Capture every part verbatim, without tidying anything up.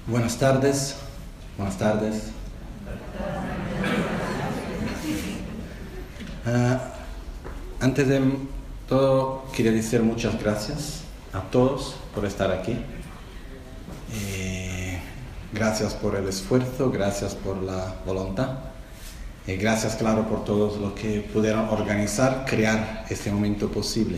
Buenas tardes, buenas tardes. Uh, antes de todo, quería decir muchas gracias a todos por estar aquí. Eh, gracias por el esfuerzo, gracias por la voluntad. Y gracias, claro, por todos los que pudieron organizar, crear este momento posible.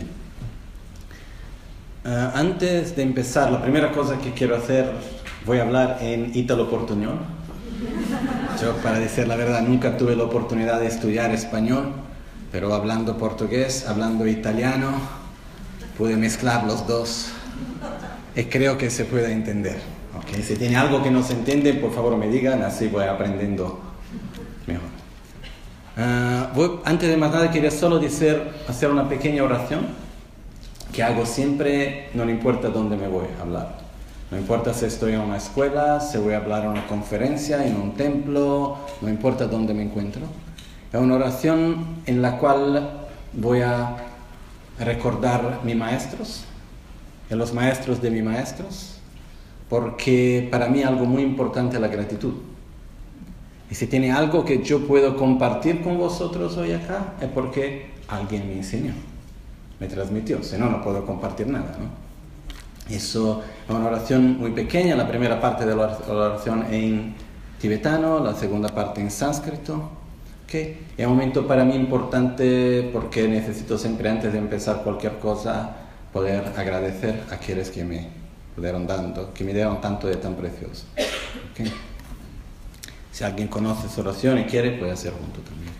Uh, antes de empezar, la primera cosa que quiero hacer, voy a hablar en ítalo-portuñol. Yo, para decir la verdad, nunca tuve la oportunidad de estudiar español, pero hablando portugués, hablando italiano, pude mezclar los dos y creo que se puede entender. ¿Okay? Si tiene algo que no se entiende, por favor me digan, así voy aprendiendo mejor. Uh, voy, antes de más nada, quería solo decir, hacer una pequeña oración que hago siempre, no importa dónde me voy a hablar. No importa si estoy en una escuela, si voy a hablar en una conferencia, en un templo, no importa dónde me encuentro. Es una oración en la cual voy a recordar mis maestros, y los maestros de mis maestros, porque para mí algo muy importante es la gratitud. Y si tiene algo que yo puedo compartir con vosotros hoy acá, es porque alguien me enseñó, me transmitió, si no, no puedo compartir nada, ¿no? Eso es una oración muy pequeña, la primera parte de la oración en tibetano, la segunda parte en sánscrito. ¿Okay? Es un momento para mí importante porque necesito siempre, antes de empezar cualquier cosa, poder agradecer a quienes que me pudieron dando, que me dieron tanto de tan precioso. ¿Okay? Si alguien conoce esa oración y quiere, puede hacer junto también.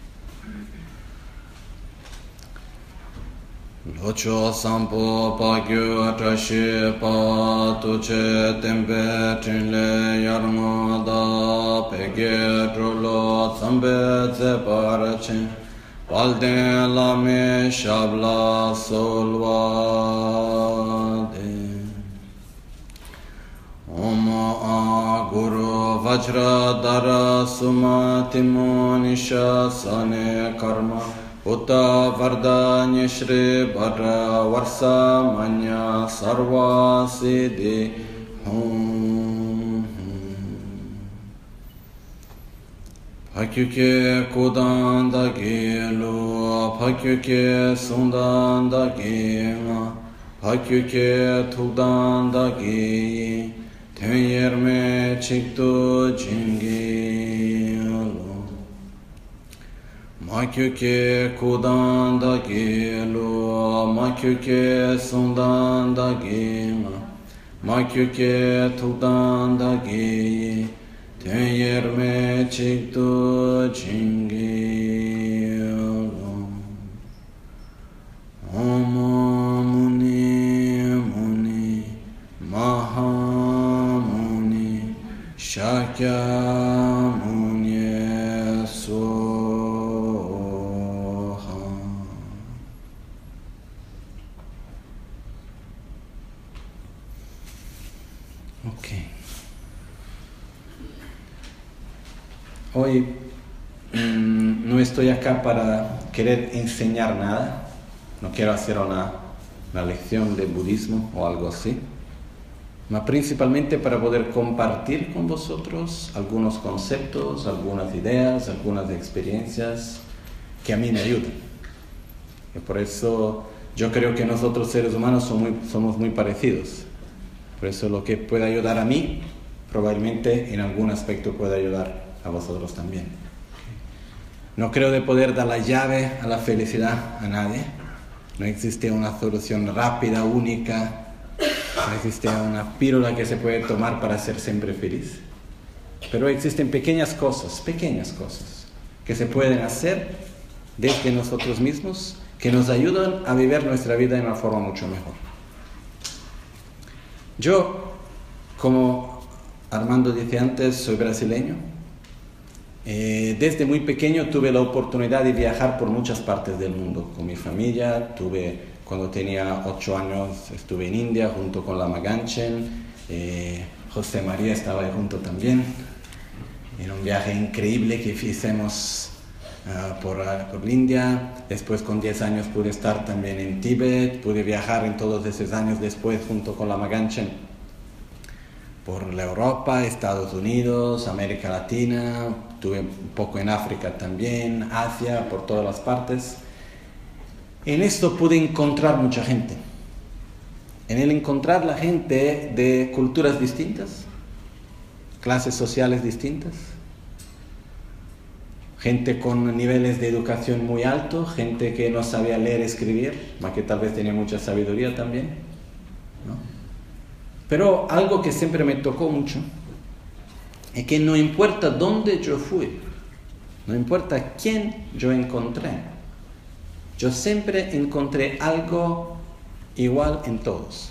Locho sampo pa gyu trashi pa tuche tempe chinle yarma da pege trulo zambe ze parachin palden lame shabla solva de Om a guru vajra dara sumatimo nisha sane karma Uta varda nyeshri bara varsa manya sarva siddhi hum Pakyuke kudan da gelu Pakyuke sundan da gema Pakyuke tukdan da gi Ten yerme chiktu jingi Makyuke kudan da gelu, makyuke sundan da gema, makyuke tukdan da geyi, ten yerme çiktu jingi Om muni muni maha muni shakya muni so Hoy mmm, no estoy acá para querer enseñar nada, no quiero hacer una, una lección de budismo o algo así, pero principalmente para poder compartir con vosotros algunos conceptos, algunas ideas, algunas experiencias que a mí me ayudan. Y por eso yo creo que nosotros seres humanos somos muy, somos muy parecidos. Por eso lo que puede ayudar a mí, probablemente en algún aspecto puede ayudar a vosotros también. No creo de poder dar la llave a la felicidad a nadie. No existe una solución rápida, única. No existe una píldora que se puede tomar para ser siempre feliz. Pero existen pequeñas cosas, pequeñas cosas que se pueden hacer desde nosotros mismos que nos ayudan a vivir nuestra vida de una forma mucho mejor. Yo, como Armando decía antes, soy brasileño. Eh, desde muy pequeño tuve la oportunidad de viajar por muchas partes del mundo con mi familia. Tuve, cuando tenía ocho años, estuve en India junto con Lama Ganchen. Eh, José María estaba ahí junto también. Era un viaje increíble que hicimos uh, por, uh, por India. Después, con diez años, pude estar también en Tíbet. Pude viajar en todos esos años después junto con Lama Ganchen por la Europa, Estados Unidos, América Latina, estuve un poco en África también, Asia, por todas las partes. En esto pude encontrar mucha gente. En el encontrar la gente de culturas distintas, clases sociales distintas, gente con niveles de educación muy altos, gente que no sabía leer y escribir, más que tal vez tenía mucha sabiduría también, ¿no? Pero algo que siempre me tocó mucho es que no importa dónde yo fui, no importa quién yo encontré, yo siempre encontré algo igual en todos.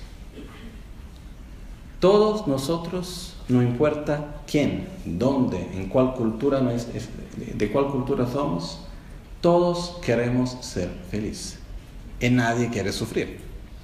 Todos nosotros, no importa quién, dónde, en cuál cultura, de cuál cultura somos, todos queremos ser felices. Y nadie quiere sufrir.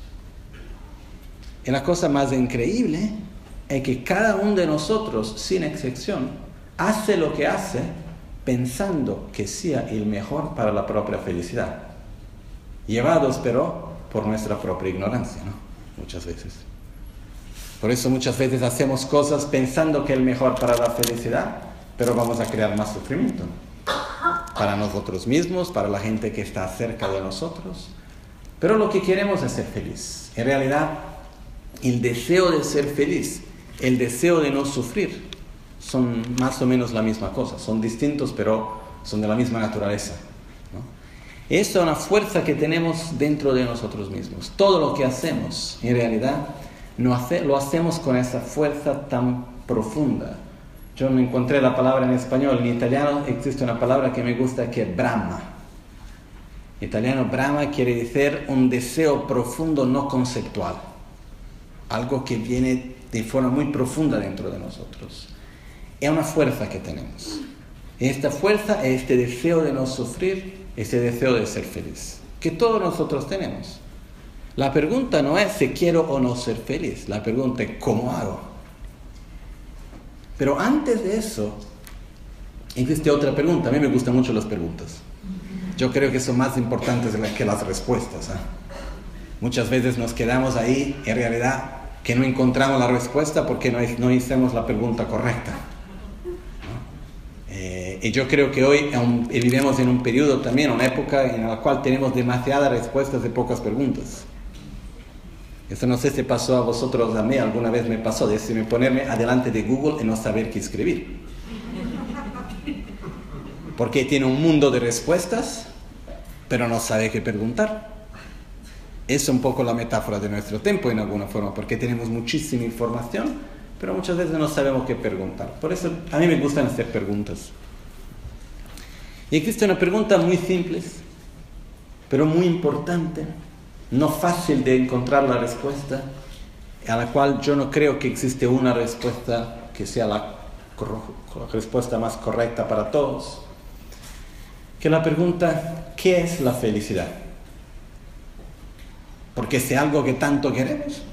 Y la cosa más increíble es que cada uno de nosotros, sin excepción, hace lo que hace pensando que sea el mejor para la propia felicidad. Llevados, pero, por nuestra propia ignorancia, ¿no? Muchas veces. Por eso muchas veces hacemos cosas pensando que es el mejor para la felicidad, pero vamos a crear más sufrimiento. Para nosotros mismos, para la gente que está cerca de nosotros. Pero lo que queremos es ser feliz. En realidad, el deseo de ser feliz, el deseo de no sufrir, son más o menos la misma cosa. Son distintos, pero son de la misma naturaleza, ¿no? Esa es una fuerza que tenemos dentro de nosotros mismos. Todo lo que hacemos, en realidad, no hace, lo hacemos con esa fuerza tan profunda. Yo no encontré la palabra en español. En italiano existe una palabra que me gusta, que es Brahma. En italiano, Brahma quiere decir un deseo profundo no conceptual. Algo que viene de forma muy profunda dentro de nosotros. Es una fuerza que tenemos. Y esta fuerza es este deseo de no sufrir, este deseo de ser feliz, que todos nosotros tenemos. La pregunta no es si quiero o no ser feliz, la pregunta es ¿cómo hago? Pero antes de eso, existe otra pregunta. A mí me gustan mucho las preguntas. Yo creo que son más importantes que las respuestas, ¿eh? Muchas veces nos quedamos ahí, en realidad, que no encontramos la respuesta porque no, no hicimos la pregunta correcta, ¿no? Eh, y yo creo que hoy um, vivimos en un periodo también, una época en la cual tenemos demasiadas respuestas de pocas preguntas. Eso no sé si pasó a vosotros, a mí alguna vez me pasó, de decirme ponerme adelante de Google y no saber qué escribir. Porque tiene un mundo de respuestas, pero no sabe qué preguntar. Es un poco la metáfora de nuestro tiempo en alguna forma, porque tenemos muchísima información, pero muchas veces no sabemos qué preguntar. Por eso a mí me gustan hacer preguntas. Y existe una pregunta muy simple, pero muy importante, no fácil de encontrar la respuesta, a la cual yo no creo que existe una respuesta que sea la, la respuesta más correcta para todos, que la pregunta, ¿qué es la felicidad? Porque es algo que tanto queremos.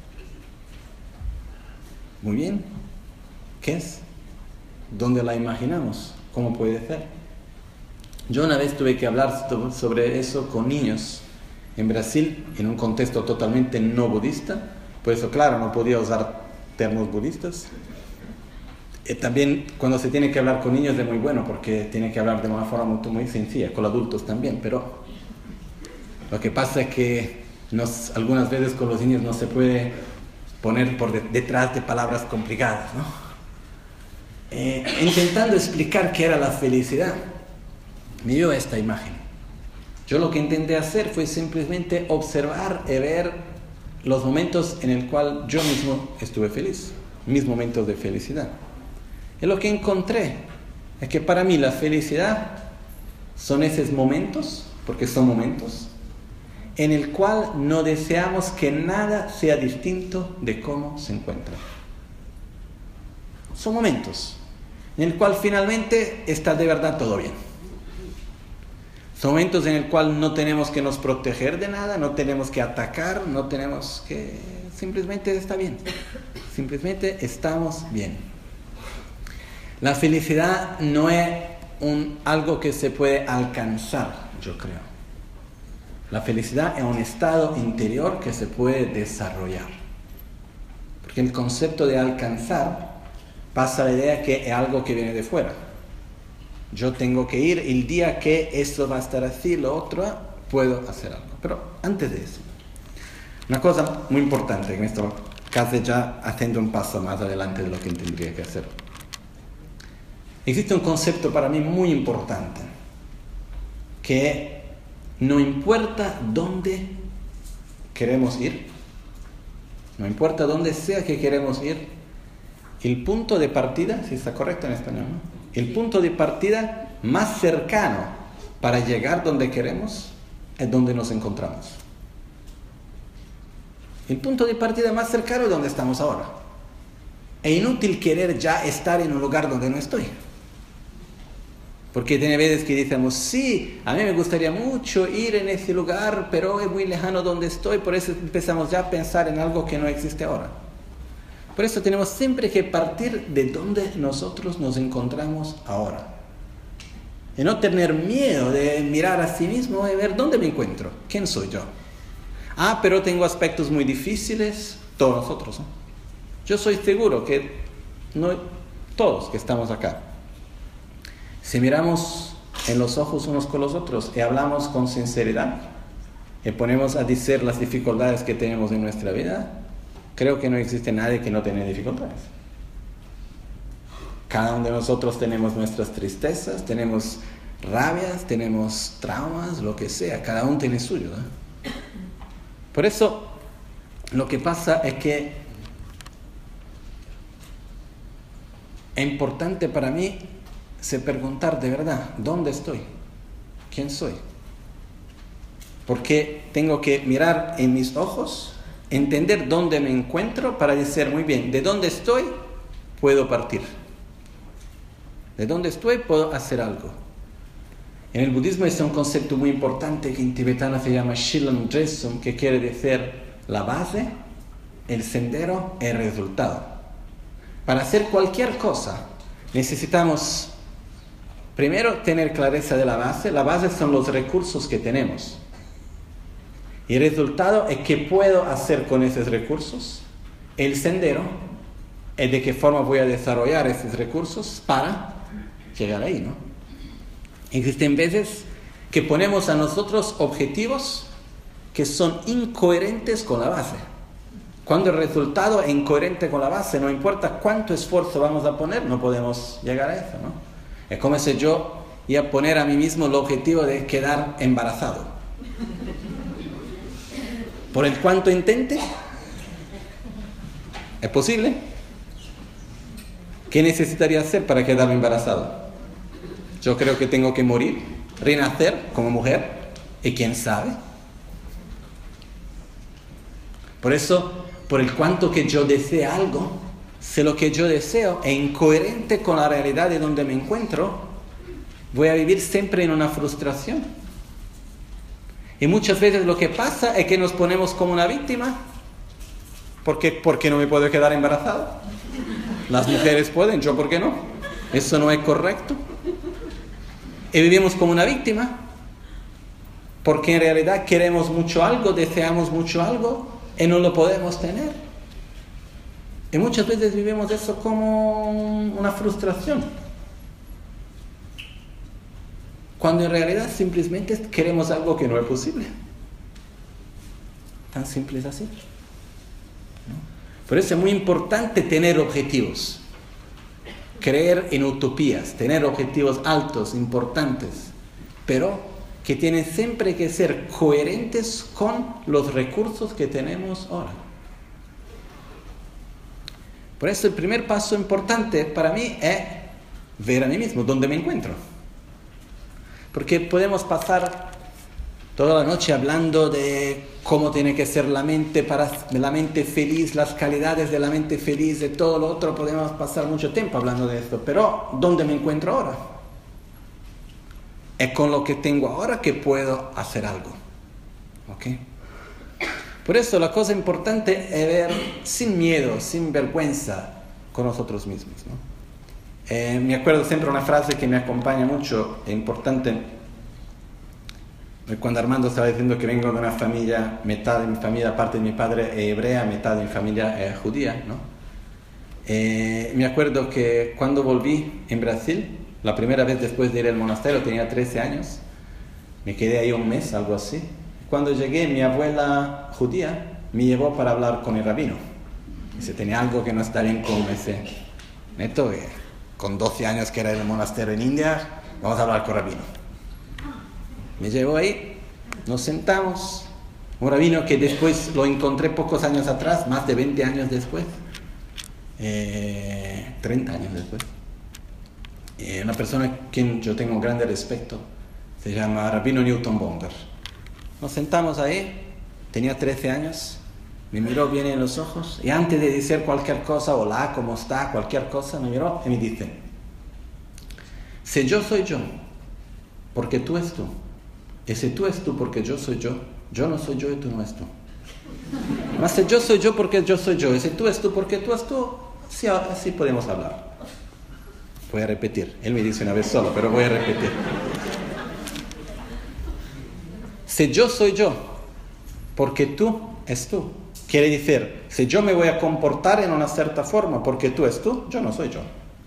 Muy bien, ¿qué es? ¿Dónde la imaginamos? ¿Cómo puede ser? Yo una vez tuve que hablar sobre eso con niños en Brasil, en un contexto totalmente no budista, por eso claro, no podía usar términos budistas. Y también cuando se tiene que hablar con niños es muy bueno, porque tiene que hablar de una forma muy, muy sencilla, con adultos también, pero lo que pasa es que nos, algunas veces con los niños no se puede poner por de, detrás de palabras complicadas, ¿no? Eh, intentando explicar qué era la felicidad, me dio esta imagen. Yo lo que intenté hacer fue simplemente observar y ver los momentos en el cual yo mismo estuve feliz, mis momentos de felicidad. Y lo que encontré es que para mí la felicidad son esos momentos, porque son momentos, en el cual no deseamos que nada sea distinto de cómo se encuentra. Son momentos en el cual finalmente está de verdad todo bien. Son momentos en el cual no tenemos que nos proteger de nada, no tenemos que atacar, no tenemos que... Simplemente está bien. Simplemente estamos bien. La felicidad no es un, algo que se puede alcanzar, yo creo. La felicidad es un estado interior que se puede desarrollar. Porque el concepto de alcanzar pasa a la idea que es algo que viene de fuera. Yo tengo que ir, el día que esto va a estar así, lo otro, puedo hacer algo. Pero antes de eso, una cosa muy importante, que me estoy casi ya haciendo un paso más adelante de lo que tendría que hacer. Existe un concepto para mí muy importante, que no importa dónde queremos ir, no importa dónde sea que queremos ir, el punto de partida, si está correcto en español, ¿no? El punto de partida más cercano para llegar donde queremos es donde nos encontramos. El punto de partida más cercano es donde estamos ahora. Es inútil querer ya estar en un lugar donde no estoy. Porque tiene veces que decimos, sí, a mí me gustaría mucho ir en ese lugar, pero es muy lejano donde estoy, por eso empezamos ya a pensar en algo que no existe ahora. Por eso tenemos siempre que partir de donde nosotros nos encontramos ahora. Y no tener miedo de mirar a sí mismo y ver dónde me encuentro, quién soy yo. Ah, pero tengo aspectos muy difíciles, todos nosotros, ¿no? Yo soy seguro que no, todos que estamos acá, si miramos en los ojos unos con los otros y hablamos con sinceridad y ponemos a decir las dificultades que tenemos en nuestra vida, creo que no existe nadie que no tenga dificultades. Cada uno de nosotros tenemos nuestras tristezas, tenemos rabias, tenemos traumas, lo que sea. Cada uno tiene suyo, ¿eh? Por eso, lo que pasa es que es importante para mí se preguntar de verdad, ¿dónde estoy? ¿Quién soy? Porque tengo que mirar en mis ojos, entender dónde me encuentro para decir, muy bien, de dónde estoy, puedo partir. De dónde estoy, puedo hacer algo. En el budismo es un concepto muy importante que en tibetano se llama Shilam Dresum, que quiere decir la base, el sendero, el resultado. Para hacer cualquier cosa, necesitamos primero tener clareza de la base. La base son los recursos que tenemos. Y el resultado es qué puedo hacer con esos recursos. El sendero es de qué forma voy a desarrollar esos recursos para llegar ahí, ¿no? Existen veces que ponemos a nosotros objetivos que son incoherentes con la base. Cuando el resultado es incoherente con la base, no importa cuánto esfuerzo vamos a poner, no podemos llegar a eso, ¿no? Es como si yo iba a poner a mí mismo el objetivo de quedar embarazado. Por el cuanto intente, ¿es posible? ¿Qué necesitaría hacer para quedarme embarazado? Yo creo que tengo que morir, renacer como mujer, y quién sabe. Por eso, por el cuanto que yo desee algo, si lo que yo deseo es incoherente con la realidad de donde me encuentro, voy a vivir siempre en una frustración. Y muchas veces lo que pasa es que nos ponemos como una víctima. ¿Por qué? Porque no me puedo quedar embarazada. Las mujeres pueden, yo ¿por qué no? Eso no es correcto. Y vivimos como una víctima, porque en realidad queremos mucho algo, deseamos mucho algo y no lo podemos tener. Y muchas veces vivimos eso como una frustración, cuando en realidad simplemente queremos algo que no es posible. Tan simple es así, ¿no? Por eso es muy importante tener objetivos. Creer en utopías, tener objetivos altos, importantes, pero que tienen siempre que ser coherentes con los recursos que tenemos ahora. Por eso el primer paso importante para mí es ver a mí mismo, dónde me encuentro. Porque podemos pasar toda la noche hablando de cómo tiene que ser la mente para la mente feliz, las calidades de la mente feliz, de todo lo otro. Podemos pasar mucho tiempo hablando de esto, pero ¿dónde me encuentro ahora? Es con lo que tengo ahora que puedo hacer algo, ¿ok? Por eso la cosa importante es ver sin miedo, sin vergüenza con nosotros mismos, ¿no? Eh, me acuerdo siempre una frase que me acompaña mucho, es importante. Cuando Armando estaba diciendo que vengo de una familia, mitad de mi familia, parte de mi padre es hebrea, mitad de mi familia es judía, ¿no? Eh, me acuerdo que cuando volví en Brasil, la primera vez después de ir al monasterio, tenía trece años, me quedé ahí un mes, algo así. Cuando llegué, mi abuela judía me llevó para hablar con el rabino. Dice, tenía algo que no está bien con ese neto, que con doce años que era en el monasterio en India, vamos a hablar con el rabino. Me llevó ahí, nos sentamos, un rabino que después lo encontré pocos años atrás, más de veinte años después, eh, treinta años después. Eh, una persona a quien yo tengo un grande respeto, se llama Rabino Newton Bonder. Nos sentamos ahí, tenía trece años, me miró bien en los ojos y antes de decir cualquier cosa, hola, ¿cómo está? Cualquier cosa, me miró y me dice, si yo soy yo, porque tú es tú, y si tú es tú porque yo soy yo, yo no soy yo y tú no es tú. Mas si yo soy yo porque yo soy yo, y si tú es tú porque tú es tú, sí, así podemos hablar. Voy a repetir, él me dice una vez solo, pero voy a repetir. Si yo soy yo porque tú es tú, quiere decir, si yo me voy a comportar en una cierta forma porque tú es tú, yo no soy yo.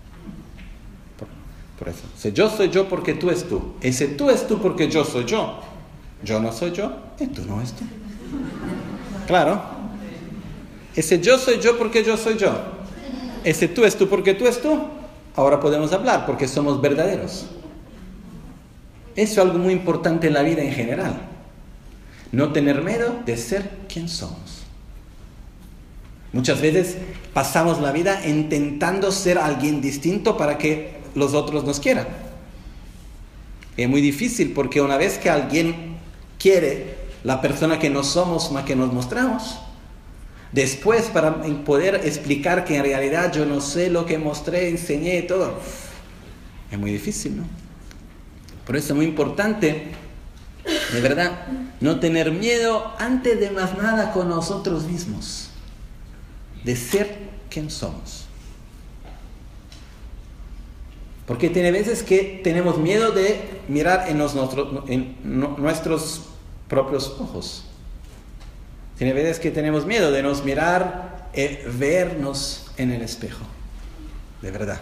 Por eso, si yo soy yo porque tú es tú, y si tú es tú porque yo soy yo, yo no soy yo y tú no es tú. Claro. Y si yo soy yo porque yo soy yo, y si tú es tú porque tú es tú, ahora podemos hablar porque somos verdaderos. Eso es algo muy importante en la vida en general. No tener miedo de ser quien somos. Muchas veces pasamos la vida intentando ser alguien distinto para que los otros nos quieran. Es muy difícil porque una vez que alguien quiere la persona que no somos más que nos mostramos, después para poder explicar que en realidad yo no sé lo que mostré, enseñé y todo, es muy difícil, ¿no? Por eso es muy importante, de verdad, no tener miedo antes de más nada con nosotros mismos, de ser quien somos. Porque tiene veces que tenemos miedo de mirar en, los, en nuestros propios ojos. Tiene veces que tenemos miedo de nos mirar, eh, vernos en el espejo. De verdad.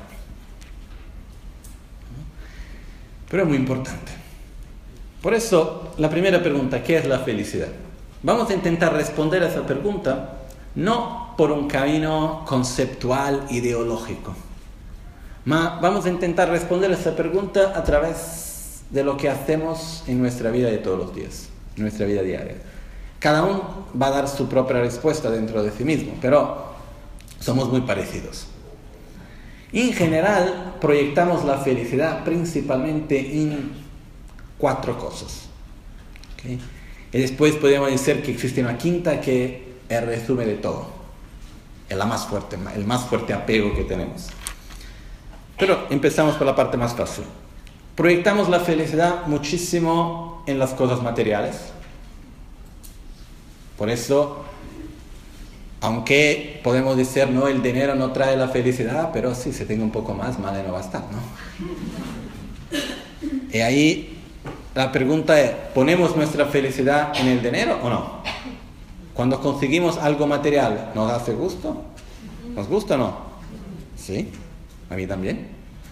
Pero es muy importante. Por eso, la primera pregunta, ¿qué es la felicidad? Vamos a intentar responder a esa pregunta no por un camino conceptual, ideológico. Ma vamos a intentar responder a esa pregunta a través de lo que hacemos en nuestra vida de todos los días, en nuestra vida diaria. Cada uno va a dar su propia respuesta dentro de sí mismo, pero somos muy parecidos. En general, proyectamos la felicidad principalmente en cuatro cosas. ¿Okay? Y después podemos decir que existe una quinta que es el resumen de todo. Es la más fuerte, el más fuerte apego que tenemos. Pero empezamos por la parte más fácil. Proyectamos la felicidad muchísimo en las cosas materiales. Por eso, aunque podemos decir, no, el dinero no trae la felicidad, pero sí, si tengo un poco más, madre no va a estar, ¿no? Y ahí la pregunta es, ¿ponemos nuestra felicidad en el dinero o no? Cuando conseguimos algo material, ¿nos hace gusto? ¿Nos gusta o no? Sí. A mí también.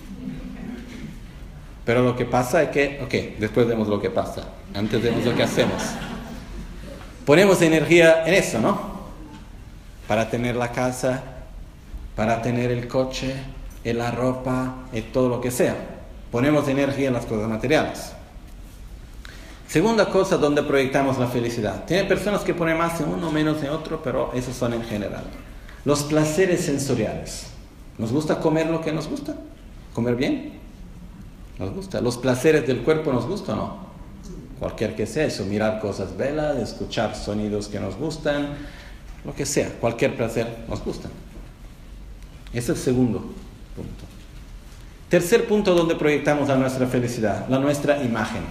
Pero lo que pasa es que, ok, después vemos lo que pasa. Antes vemos lo que hacemos. Ponemos energía en eso, ¿no? Para tener la casa, para tener el coche, en la ropa, en todo lo que sea. Ponemos energía en las cosas materiales. Segunda cosa donde proyectamos la felicidad. Tiene personas que ponen más en uno, menos en otro, pero esos son en general. Los placeres sensoriales. ¿Nos gusta comer lo que nos gusta? ¿Comer bien? Nos gusta. ¿Los placeres del cuerpo nos gustan o no? Cualquier que sea eso, mirar cosas bellas, escuchar sonidos que nos gustan, lo que sea, cualquier placer nos gusta. Ese es el segundo punto. Tercer punto donde proyectamos a nuestra felicidad, la nuestra imagen.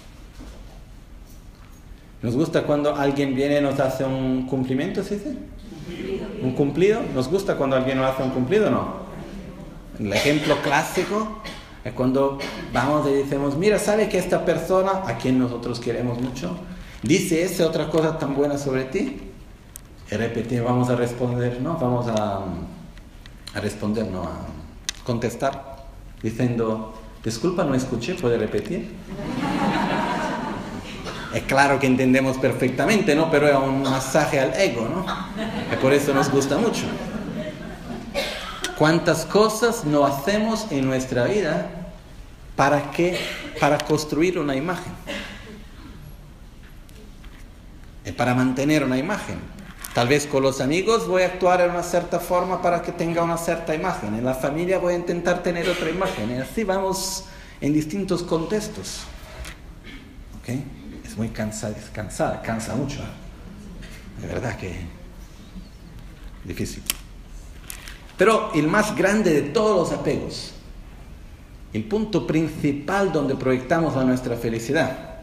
¿Nos gusta cuando alguien viene y nos hace un cumplimiento, ¿se dice? ¿Un cumplido? ¿Nos gusta cuando alguien nos hace un cumplido o no? El ejemplo clásico Es cuando vamos y decimos, mira, ¿sabe que esta persona, a quien nosotros queremos mucho, dice esa otra cosa tan buena sobre ti? Y repetir, vamos a responder, ¿no? Vamos a, a responder, no, a contestar, diciendo, disculpa, no escuché, ¿puede repetir? Es claro que entendemos perfectamente, ¿no? Pero es un masaje al ego, ¿no? Y por eso nos gusta mucho. ¿Cuántas cosas no hacemos en nuestra vida para qué? Para construir una imagen. Y para mantener una imagen. Tal vez con los amigos voy a actuar en una cierta forma para que tenga una cierta imagen. En la familia voy a intentar tener otra imagen. Y así vamos en distintos contextos. ¿Ok? Es muy cansada, es cansada, cansa mucho. ¿Eh? De verdad que difícil. Pero el más grande de todos los apegos, el punto principal donde proyectamos a nuestra felicidad,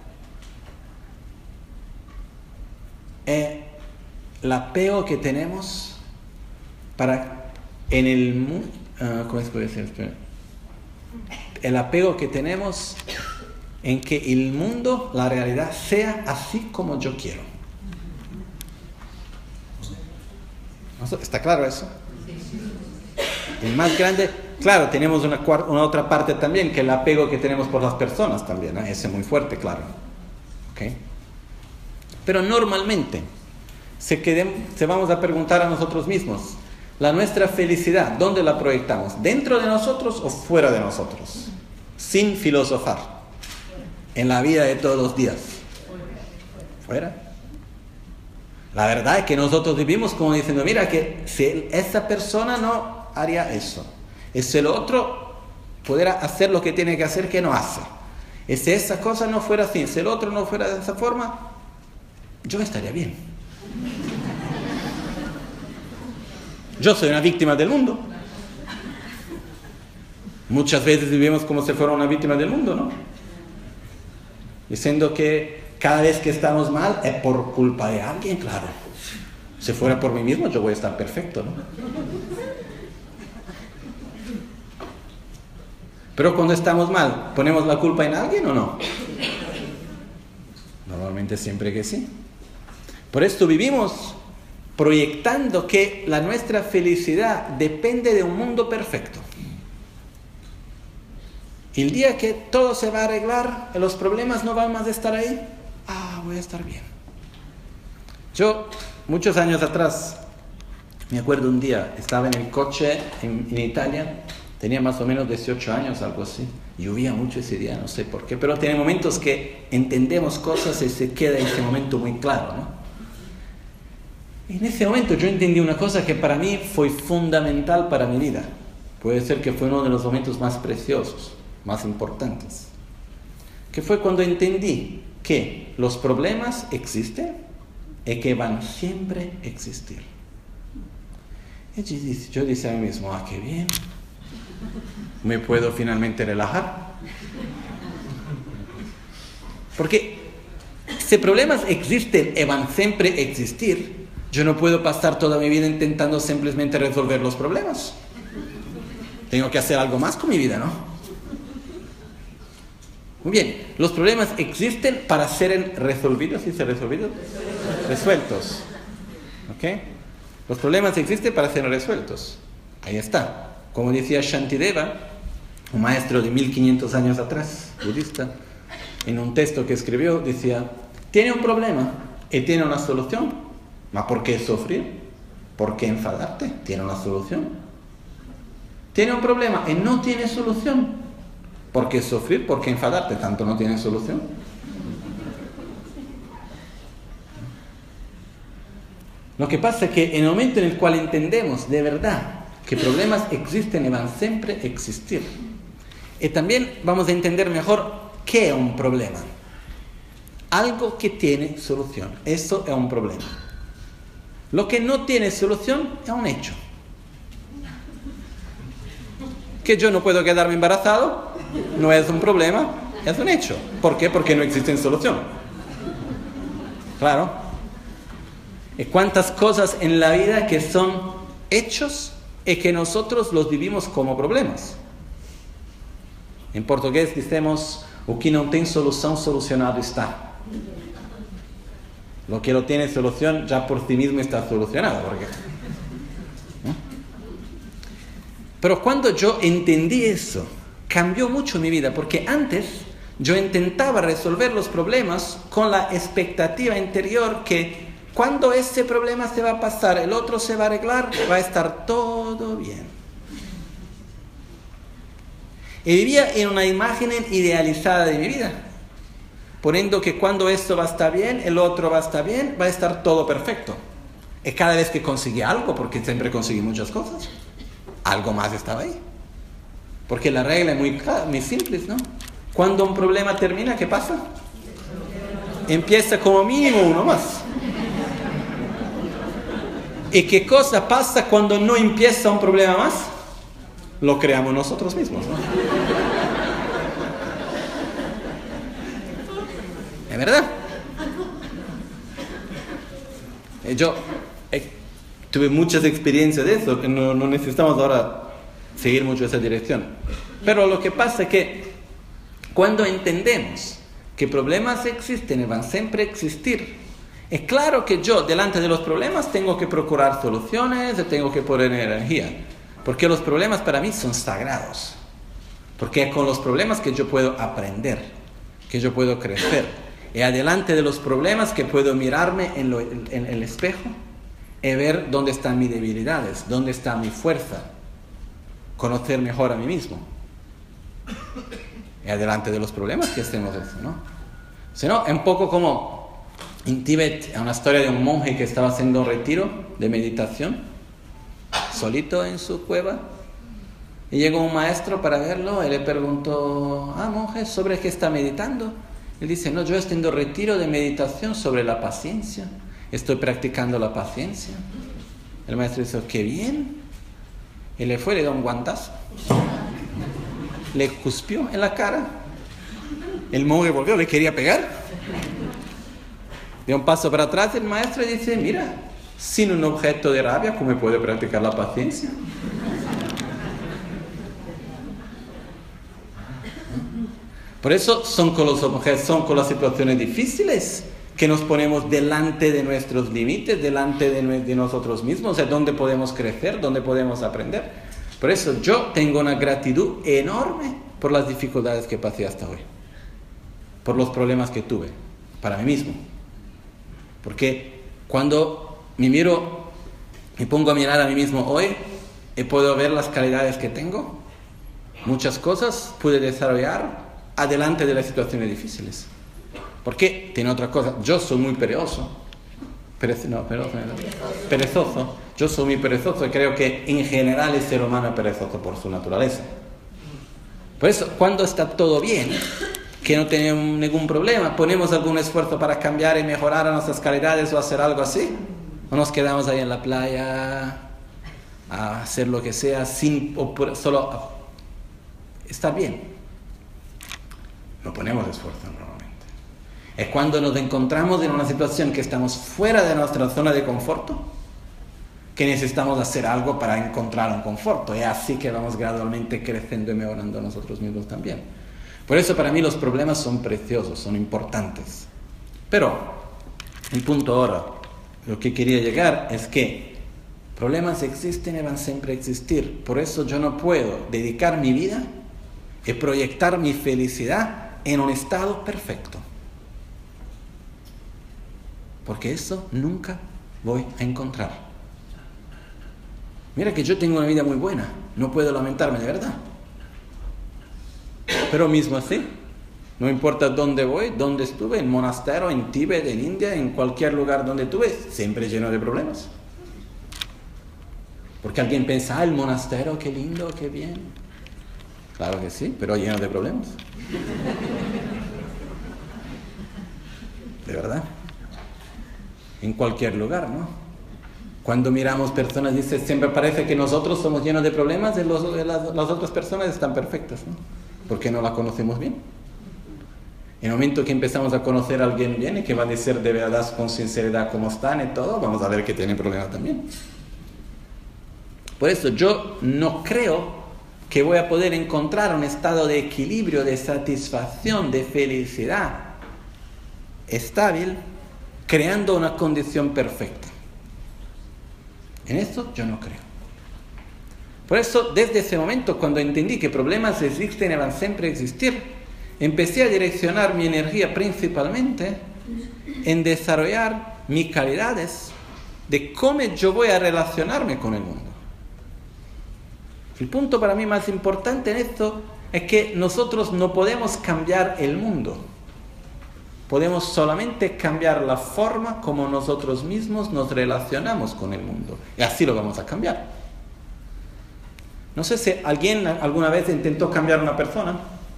es el apego que tenemos para en el mundo, uh, ¿cómo se puede decir? Espera. El apego que tenemos en que el mundo, la realidad, sea así como yo quiero. ¿Está claro eso? El más grande, claro, tenemos una, una otra parte también, que el apego que tenemos por las personas también, ¿eh? Ese es muy fuerte, claro. ¿Okay? Pero normalmente, se, quedem, se vamos a preguntar a nosotros mismos, la nuestra felicidad, ¿dónde la proyectamos? ¿Dentro de nosotros o fuera de nosotros? Sin filosofar. En la vida de todos los días. ¿Fuera? La verdad es que nosotros vivimos como diciendo, mira, que si esa persona no haría eso, y si el otro pudiera hacer lo que tiene que hacer, que no hace, y si esa cosa no fuera así, si el otro no fuera de esa forma, yo estaría bien. Yo soy una víctima del mundo. Muchas veces vivimos como si fuera una víctima del mundo, ¿no? Diciendo que cada vez que estamos mal es por culpa de alguien, claro. Si fuera por mí mismo, yo voy a estar perfecto, ¿no? Pero cuando estamos mal, ¿ponemos la culpa en alguien o no? Normalmente siempre que sí. Por esto vivimos proyectando que la nuestra felicidad depende de un mundo perfecto. Y el día que todo se va a arreglar, los problemas no van más a estar ahí, ah, voy a estar bien. Yo, muchos años atrás, me acuerdo un día, estaba en el coche en, en Italia, tenía más o menos dieciocho años, algo así. Llovía mucho ese día, no sé por qué, pero tiene momentos que entendemos cosas y se queda ese momento muy claro, ¿no? Y en ese momento yo entendí una cosa que para mí fue fundamental para mi vida. Puede ser que fue uno de los momentos más preciosos, más importantes. Que fue cuando entendí que los problemas existen y que van siempre a existir. Y yo dije a mí mismo, ah, qué bien. Me puedo finalmente relajar. Porque si problemas existen y van siempre a existir, yo no puedo pasar toda mi vida intentando simplemente resolver los problemas. Tengo que hacer algo más con mi vida, ¿no? Muy bien, los problemas existen para ser resolvidos, ¿sí se resolvidos? Resueltos. ¿Ok? Los problemas existen para ser resueltos. Ahí está. Como decía Shantideva, un maestro de mil quinientos años atrás, budista, en un texto que escribió, decía, tiene un problema y tiene una solución. ¿Ma por qué sufrir? ¿Por qué enfadarte? Tiene una solución. Tiene un problema y no tiene solución. ¿Por qué sufrir? ¿Por qué enfadarte? Tanto no tiene solución. Lo que pasa es que en el momento en el cual entendemos de verdad que problemas existen y van siempre a existir, y también vamos a entender mejor qué es un problema. Algo que tiene solución. Eso es un problema. Lo que no tiene solución es un hecho. Que yo no puedo quedarme embarazado no es un problema, es un hecho. ¿Por qué? Porque no existe solución. Claro. ¿Y cuántas cosas en la vida que son hechos y que nosotros los vivimos como problemas? En portugués decimos, o que no tiene solución, solucionado está. Lo que no tiene solución ya por sí mismo está solucionado. Porque... ¿no? Pero cuando yo entendí eso, cambió mucho mi vida, porque antes yo intentaba resolver los problemas con la expectativa interior que cuando ese problema se va a pasar, el otro se va a arreglar, va a estar todo bien. Y vivía en una imagen idealizada de mi vida, poniendo que cuando esto va a estar bien, el otro va a estar bien, va a estar todo perfecto. Y cada vez que conseguí algo, porque siempre conseguí muchas cosas, algo más estaba ahí. Porque la regla es muy, muy simple, ¿no? Cuando un problema termina, ¿qué pasa? Empieza como mínimo uno más. ¿Y qué cosa pasa cuando no empieza un problema más? Lo creamos nosotros mismos, ¿no? ¿Es verdad? Yo eh, tuve muchas experiencias de eso, que no, no necesitamos ahora seguir mucho esa dirección. Pero lo que pasa es que cuando entendemos que problemas existen y van siempre a existir, es claro que yo, delante de los problemas, tengo que procurar soluciones, tengo que poner energía. Porque los problemas para mí son sagrados. Porque es con los problemas que yo puedo aprender, que yo puedo crecer. Y adelante de los problemas que puedo mirarme en, lo, en, en el espejo y ver dónde están mis debilidades, dónde está mi fuerza. Conocer mejor a mí mismo. Y adelante de los problemas que hacemos eso, ¿no? Si no, es un poco como en Tíbet, es una historia de un monje que estaba haciendo un retiro de meditación, solito en su cueva, y llegó un maestro para verlo y le preguntó, ah, monje, ¿sobre qué está meditando? Él dice, no, yo estoy haciendo retiro de meditación sobre la paciencia, estoy practicando la paciencia. El maestro dice, qué bien, y le fue, le dio un guantazo, le cuspió en la cara, el monje volvió, le quería pegar, dio un paso para atrás el maestro y dice, mira, sin un objeto de rabia, ¿cómo puedo practicar la paciencia? Por eso son con los objetos, son con las situaciones difíciles que nos ponemos delante de nuestros límites, delante de, de nosotros mismos, o sea, dónde podemos crecer, dónde podemos aprender. Por eso yo tengo una gratitud enorme por las dificultades que pasé hasta hoy, por los problemas que tuve, para mí mismo. Porque cuando me miro y pongo a mirar a mí mismo hoy, y puedo ver las calidades que tengo, muchas cosas pude desarrollar adelante de las situaciones difíciles. Porque tiene otra cosa, yo soy muy perezoso, Perez, no, perezoso, no, perezoso, yo soy muy perezoso y creo que en general el ser humano es perezoso por su naturaleza. Por eso, cuando está todo bien, que no tenemos ningún problema, ponemos algún esfuerzo para cambiar y mejorar nuestras calidades o hacer algo así, o nos quedamos ahí en la playa a hacer lo que sea sin o por, solo a estar bien. No ponemos esfuerzo normalmente. Es cuando nos encontramos en una situación que estamos fuera de nuestra zona de confort, que necesitamos hacer algo para encontrar un confort. Es así que vamos gradualmente creciendo y mejorando nosotros mismos también. Por eso para mí los problemas son preciosos, son importantes. Pero el punto ahora, lo que quería llegar es que problemas existen y van siempre a existir. Por eso yo no puedo dedicar mi vida y proyectar mi felicidad en un estado perfecto. Porque eso nunca voy a encontrar. Mira que yo tengo una vida muy buena, no puedo lamentarme de verdad. Pero mismo así, no importa dónde voy, dónde estuve, en monasterio, en Tíbet, en India, en cualquier lugar donde estuve, siempre lleno de problemas. Porque alguien piensa, ah, el monasterio, qué lindo, qué bien. Claro que sí, pero lleno de problemas. De verdad. En cualquier lugar, ¿no? Cuando miramos personas, dice, siempre parece que nosotros somos llenos de problemas y los, las, las otras personas están perfectas, ¿no? Porque no la conocemos bien. En el momento que empezamos a conocer a alguien bien y que va a decir de verdad con sinceridad cómo están y todo, vamos a ver que tienen problemas también. Por eso yo no creo que voy a poder encontrar un estado de equilibrio, de satisfacción, de felicidad estable, creando una condición perfecta. En esto yo no creo. Por eso, desde ese momento, cuando entendí que problemas existen y van siempre a existir, empecé a direccionar mi energía principalmente en desarrollar mis calidades de cómo yo voy a relacionarme con el mundo. El punto para mí más importante en esto es que nosotros no podemos cambiar el mundo. Podemos solamente cambiar la forma como nosotros mismos nos relacionamos con el mundo. Y así lo vamos a cambiar. No sé si alguien alguna vez intentó cambiar a una persona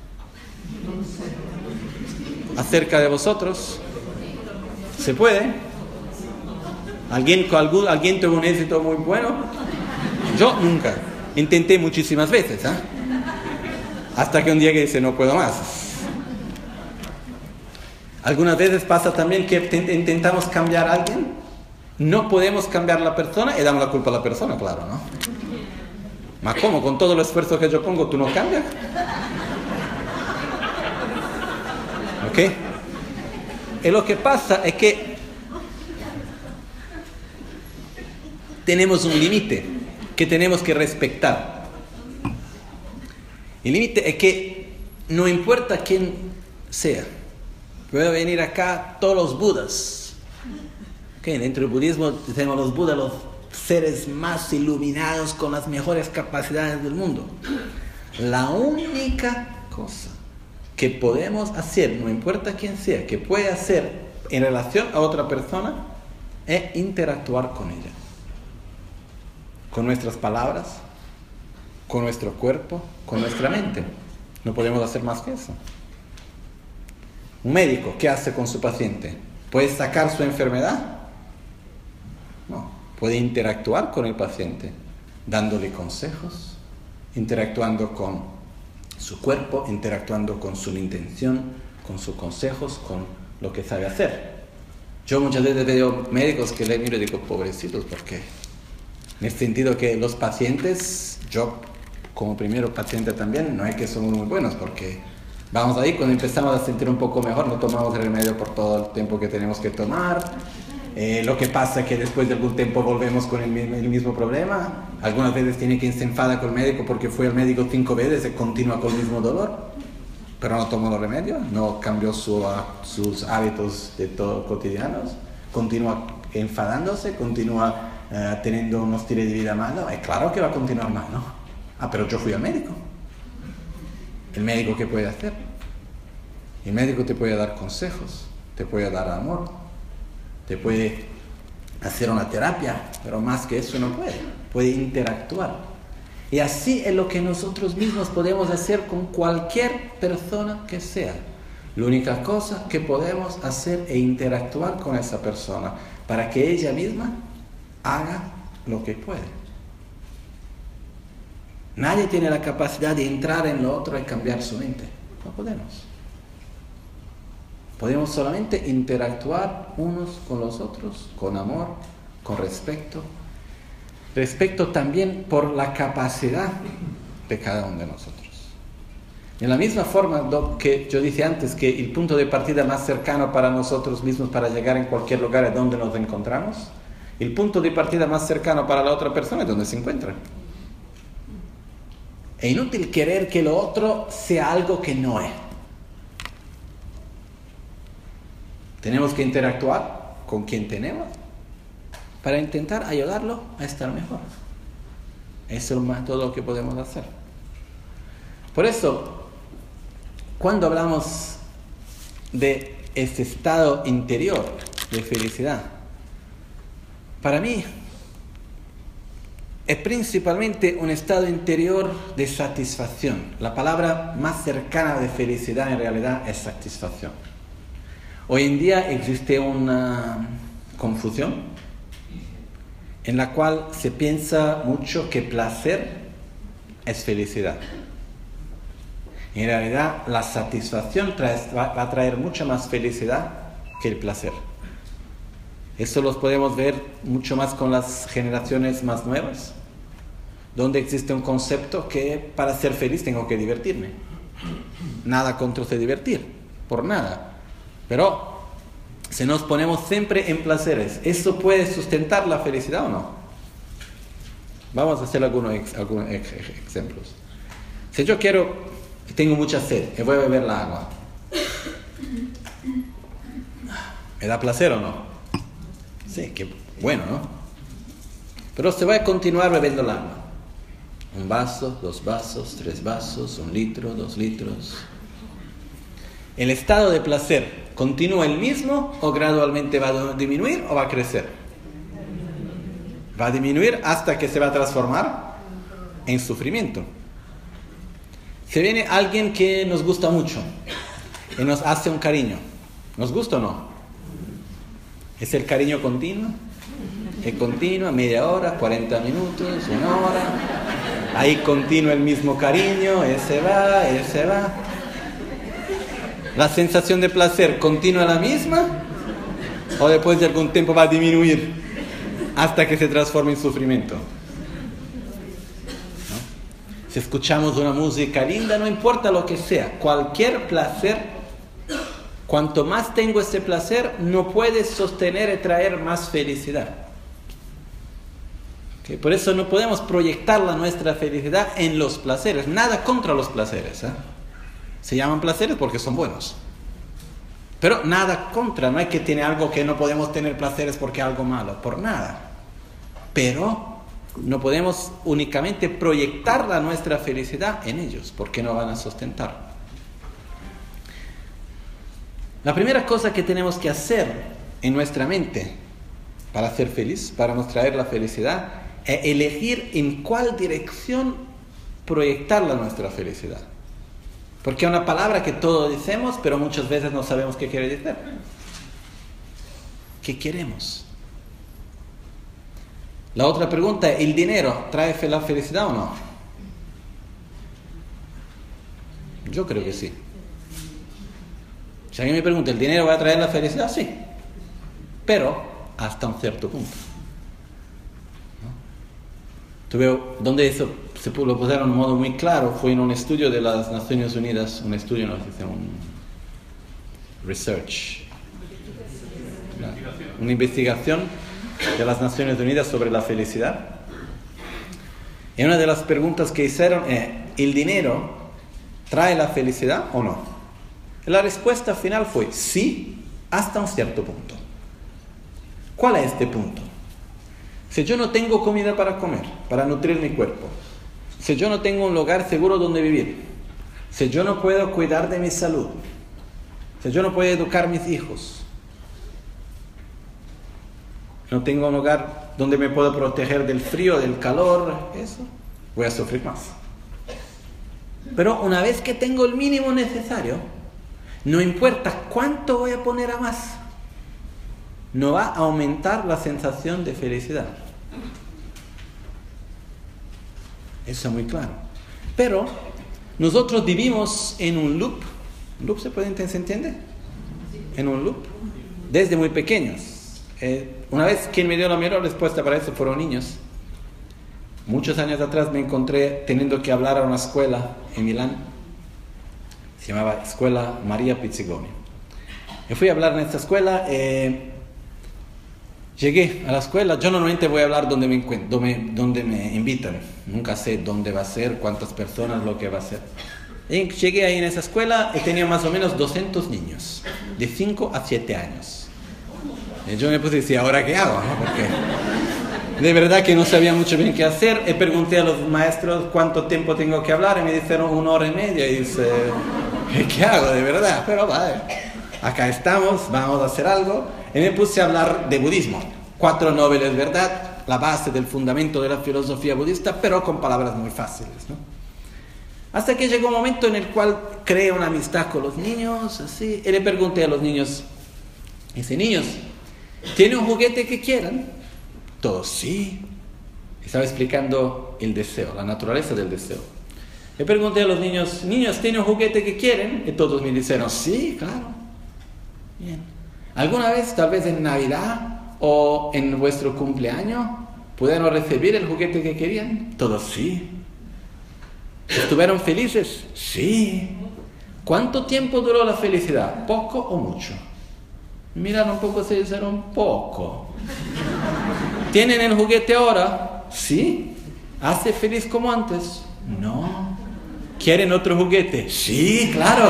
acerca de vosotros. ¿Se puede? ¿Alguien, algún, ¿Alguien tuvo un éxito muy bueno? Yo nunca. Intenté muchísimas veces, ¿eh? Hasta que un día que dice no puedo más. Algunas veces pasa también que intentamos cambiar a alguien, no podemos cambiar a la persona y damos la culpa a la persona, claro, ¿no? ¿Ma cómo? Con todo el esfuerzo que yo pongo, ¿tú no cambias? ¿Ok? Y lo que pasa es que tenemos un límite que tenemos que respetar. El límite es que no importa quién sea. Pueden venir acá todos los budas. Okay, dentro del budismo tenemos los budas, los seres más iluminados con las mejores capacidades del mundo. La única cosa que podemos hacer, no importa quién sea, que puede hacer en relación a otra persona, es interactuar con ella. Con nuestras palabras, con nuestro cuerpo, con nuestra mente. No podemos hacer más que eso. Un médico, ¿qué hace con su paciente? ¿Puede sacar su enfermedad? No, puede interactuar con el paciente, dándole consejos, interactuando con su cuerpo, interactuando con su intención, con sus consejos, con lo que sabe hacer. Yo muchas veces veo médicos que le miro y digo, pobrecitos, ¿por qué? En el sentido que los pacientes, yo como primero paciente también, no es que somos muy buenos, porque vamos ahí, cuando empezamos a sentir un poco mejor, no tomamos el remedio por todo el tiempo que tenemos que tomar. Eh, lo que pasa es que después de algún tiempo volvemos con el mismo, el mismo problema. Algunas veces tiene quien se enfada con el médico porque fue al médico cinco veces y continúa con el mismo dolor, pero no tomó los remedios, no cambió su, uh, sus hábitos de todo cotidianos, continúa enfadándose, continúa uh, teniendo un estilo de vida malo. Es claro que va a continuar mal, ¿no? Ah, pero yo fui al médico. ¿El médico qué puede hacer? El médico te puede dar consejos, te puede dar amor, te puede hacer una terapia, pero más que eso no puede. Puede interactuar. Y así es lo que nosotros mismos podemos hacer con cualquier persona que sea. La única cosa que podemos hacer es interactuar con esa persona para que ella misma haga lo que puede. Nadie tiene la capacidad de entrar en lo otro y cambiar su mente. No podemos. Podemos solamente interactuar unos con los otros, con amor, con respeto. Respeto también por la capacidad de cada uno de nosotros. De la misma forma que yo dije antes que el punto de partida más cercano para nosotros mismos para llegar en cualquier lugar es donde nos encontramos, el punto de partida más cercano para la otra persona es donde se encuentra. Es inútil querer que lo otro sea algo que no es. Tenemos que interactuar con quien tenemos para intentar ayudarlo a estar mejor. Eso es más todo lo que podemos hacer. Por eso, cuando hablamos de este estado interior de felicidad, para mí es principalmente un estado interior de satisfacción. La palabra más cercana de felicidad en realidad es satisfacción. Hoy en día existe una confusión en la cual se piensa mucho que placer es felicidad. En realidad la satisfacción trae, va a traer mucha más felicidad que el placer. Eso lo podemos ver mucho más con las generaciones más nuevas. donde existe un concepto que para ser feliz tengo que divertirme. Nada contra se divertir, por nada. Pero si nos ponemos siempre en placeres, ¿eso puede sustentar la felicidad o no? Vamos a hacer algunos, ex, algunos ex, ex, ejemplos. Si yo quiero, tengo mucha sed y voy a beber la agua, ¿me da placer o no? Sí, qué bueno, ¿no? Pero se va a continuar bebiendo el agua. Un vaso, dos vasos, tres vasos, un litro, dos litros. ¿El estado de placer continúa el mismo o gradualmente va a disminuir o va a crecer? Va a disminuir hasta que se va a transformar en sufrimiento. Si viene alguien que nos gusta mucho y nos hace un cariño, ¿nos gusta o no? ¿Es el cariño continuo? ¿Es continuo? ¿Media hora? ¿cuarenta minutos? ¿Una hora? Ahí continúa el mismo cariño, ese va, ese va. ¿La sensación de placer continúa la misma? ¿O después de algún tiempo va a disminuir hasta que se transforme en sufrimiento? ¿No? Si escuchamos una música linda, no importa lo que sea, cualquier placer, cuanto más tengo ese placer, no puede sostener y traer más felicidad. ¿Okay? Por eso no podemos proyectar la nuestra felicidad en los placeres. Nada contra los placeres, ¿eh? Se llaman placeres porque son buenos. Pero nada contra, no hay que tener algo que no podemos tener placeres porque es algo malo, por nada. Pero no podemos únicamente proyectar la nuestra felicidad en ellos, porque no van a sustentar. La primera cosa que tenemos que hacer en nuestra mente para ser feliz, para nos traer la felicidad, es elegir en cuál dirección proyectar la nuestra felicidad. Porque es una palabra que todos decimos, pero muchas veces no sabemos qué quiere decir. ¿Qué queremos? La otra pregunta es, ¿el dinero trae la felicidad o no? Yo creo que sí. Si alguien me pregunta, ¿el dinero va a traer la felicidad? Sí. Pero hasta un cierto punto. ¿No? Tú veo, ¿dónde eso se lo pusieron de un modo muy claro? Fue en un estudio de las Naciones Unidas, un estudio, no sé, un research, una, una investigación de las Naciones Unidas sobre la felicidad. Y una de las preguntas que hicieron es, ¿el dinero trae la felicidad o no? Y la respuesta final fue sí, hasta un cierto punto. ¿Cuál es este punto? Si yo no tengo comida para comer, para nutrir mi cuerpo, si yo no tengo un lugar seguro donde vivir, si yo no puedo cuidar de mi salud, si yo no puedo educar a mis hijos, no tengo un lugar donde me puedo proteger del frío, del calor, eso, voy a sufrir más. Pero una vez que tengo el mínimo necesario, no importa cuánto voy a poner a más, no va a aumentar la sensación de felicidad. Eso es muy claro. Pero nosotros vivimos en un loop. ¿Loop se puede entender? ¿Se entiende? En un loop. Desde muy pequeños. Eh, una vez quien me dio la mejor respuesta para eso fueron niños. Muchos años atrás me encontré teniendo que hablar a una escuela en Milán. Se llamaba Escuela María Pizzigoni. Y fui a hablar en esta escuela. Eh, Llegué a la escuela, yo normalmente voy a hablar donde me encuentro, donde, donde me invitan. Nunca sé dónde va a ser, cuántas personas, lo que va a ser. Y llegué ahí en esa escuela y tenía más o menos doscientos niños, de cinco a siete años. Y yo me puse y decía, ¿ahora qué hago? ¿No? Porque de verdad que no sabía mucho bien qué hacer. Y pregunté a los maestros cuánto tiempo tengo que hablar y me dijeron una hora y media. Y dice, ¿qué hago de verdad? Pero vale, acá estamos, vamos a hacer algo. Y me puse a hablar de budismo. Cuatro nobles, ¿verdad? La base del fundamento de la filosofía budista, pero con palabras muy fáciles, ¿no? Hasta que llegó un momento en el cual creé una amistad con los niños, así. Y le pregunté a los niños, dice, niños, ¿tienen un juguete que quieran? Todos, sí. Estaba explicando el deseo, la naturaleza del deseo. Le pregunté a los niños, niños, ¿tienen un juguete que quieren? Y todos me dijeron, sí, claro. Bien. ¿Alguna vez, tal vez en Navidad o en vuestro cumpleaños, ¿Pudieron recibir el juguete que querían? Todos sí. ¿Estuvieron felices? Sí. ¿Cuánto tiempo duró la felicidad? ¿Poco o mucho? Miraron un poco, se dijeron poco. ¿Tienen el juguete ahora? Sí. ¿Hace feliz como antes? No. ¿Quieren otro juguete? Sí, claro.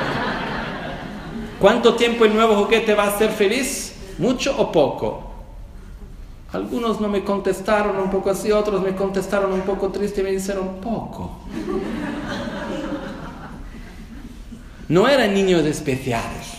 ¿Cuánto tiempo el nuevo juguete va a hacer feliz? ¿Mucho o poco? Algunos no me contestaron un poco así, otros me contestaron un poco triste y me dijeron poco. No eran niños especiales.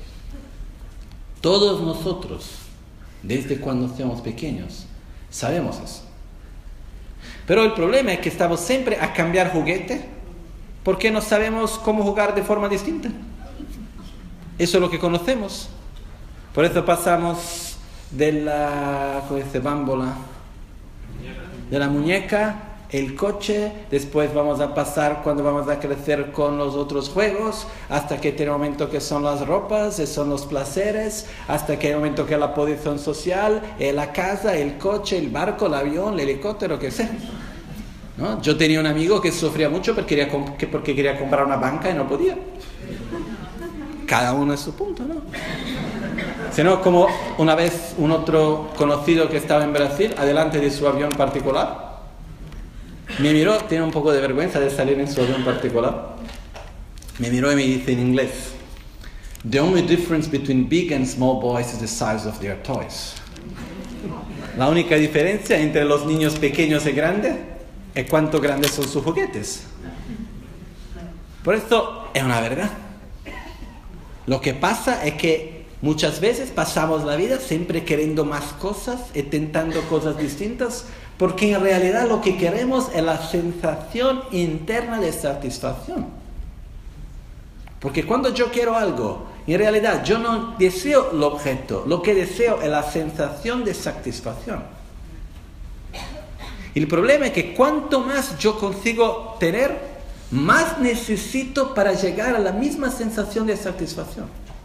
Todos nosotros, desde cuando somos pequeños, sabemos eso. Pero el problema es que estamos siempre a cambiar juguete porque no sabemos cómo jugar de forma distinta. Eso es lo que conocemos. Por eso pasamos de la, ¿cómo dice? Bámbola, de la muñeca, el coche, después vamos a pasar cuando vamos a crecer con los otros juegos, hasta que tiene un momento que son las ropas, son los placeres, hasta que hay un momento que es la posición social, la casa, el coche, el barco, el avión, el helicóptero, qué sé. ¿No? Yo tenía un amigo que sufría mucho porque quería, comp- porque quería comprar una banca y no podía. Cada uno es su punto, ¿no? Sino como una vez un otro conocido que estaba en Brasil, adelante de su avión particular, me miró, tiene un poco de vergüenza de salir en su avión particular, me miró y me dice en inglés: "The only difference between big and small boys is the size of their toys." La única diferencia entre los niños pequeños y grandes es cuánto grandes son sus juguetes. Por esto es una verdad. Lo que pasa es que muchas veces pasamos la vida siempre queriendo más cosas, intentando cosas distintas, porque en realidad lo que queremos es la sensación interna de satisfacción. Porque cuando yo quiero algo, en realidad yo no deseo el objeto, lo que deseo es la sensación de satisfacción. Y el problema es que cuanto más yo consigo tener, más necesito para llegar a la misma sensación de satisfacción.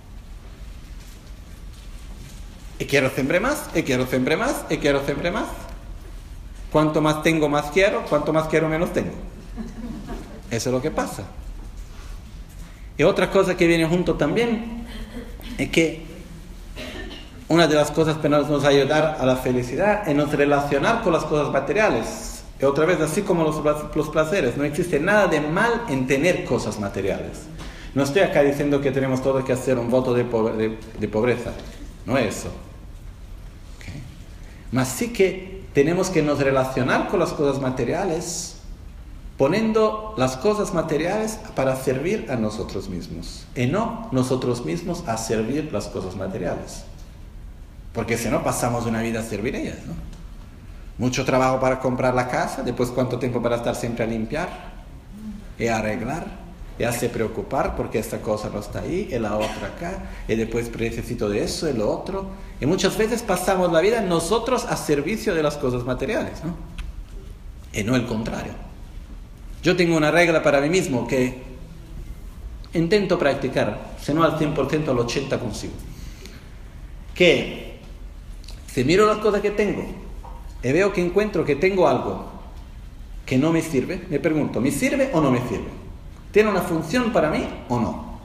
Y quiero siempre más, y quiero siempre más, y quiero siempre más. Cuanto más tengo, más quiero. Cuanto más quiero, menos tengo. Eso es lo que pasa. Y otra cosa que viene junto también es que una de las cosas que nos va a ayudar a la felicidad es nos relacionar con las cosas materiales. Y otra vez, así como los, los placeres, no existe nada de mal en tener cosas materiales. No estoy acá diciendo que tenemos todos que hacer un voto de, pobre, de, de pobreza. No es eso. ¿Okay? Mas sí que tenemos que nos relacionar con las cosas materiales, poniendo las cosas materiales para servir a nosotros mismos, y no nosotros mismos a servir las cosas materiales. Porque si no, pasamos una vida a servir ellas, ¿no? Mucho trabajo para comprar la casa, después cuánto tiempo para estar siempre a limpiar y a arreglar y a se preocupar porque esta cosa no está ahí y la otra acá y después necesito de eso y lo otro, y muchas veces pasamos la vida nosotros a servicio de las cosas materiales, ¿no? Y no el contrario. Yo tengo una regla para mí mismo que intento practicar, si no al cien por ciento, al ochenta por ciento consigo, que si miro las cosas que tengo y veo que encuentro que tengo algo que no me sirve, me pregunto, ¿me sirve o no me sirve? ¿Tiene una función para mí o no?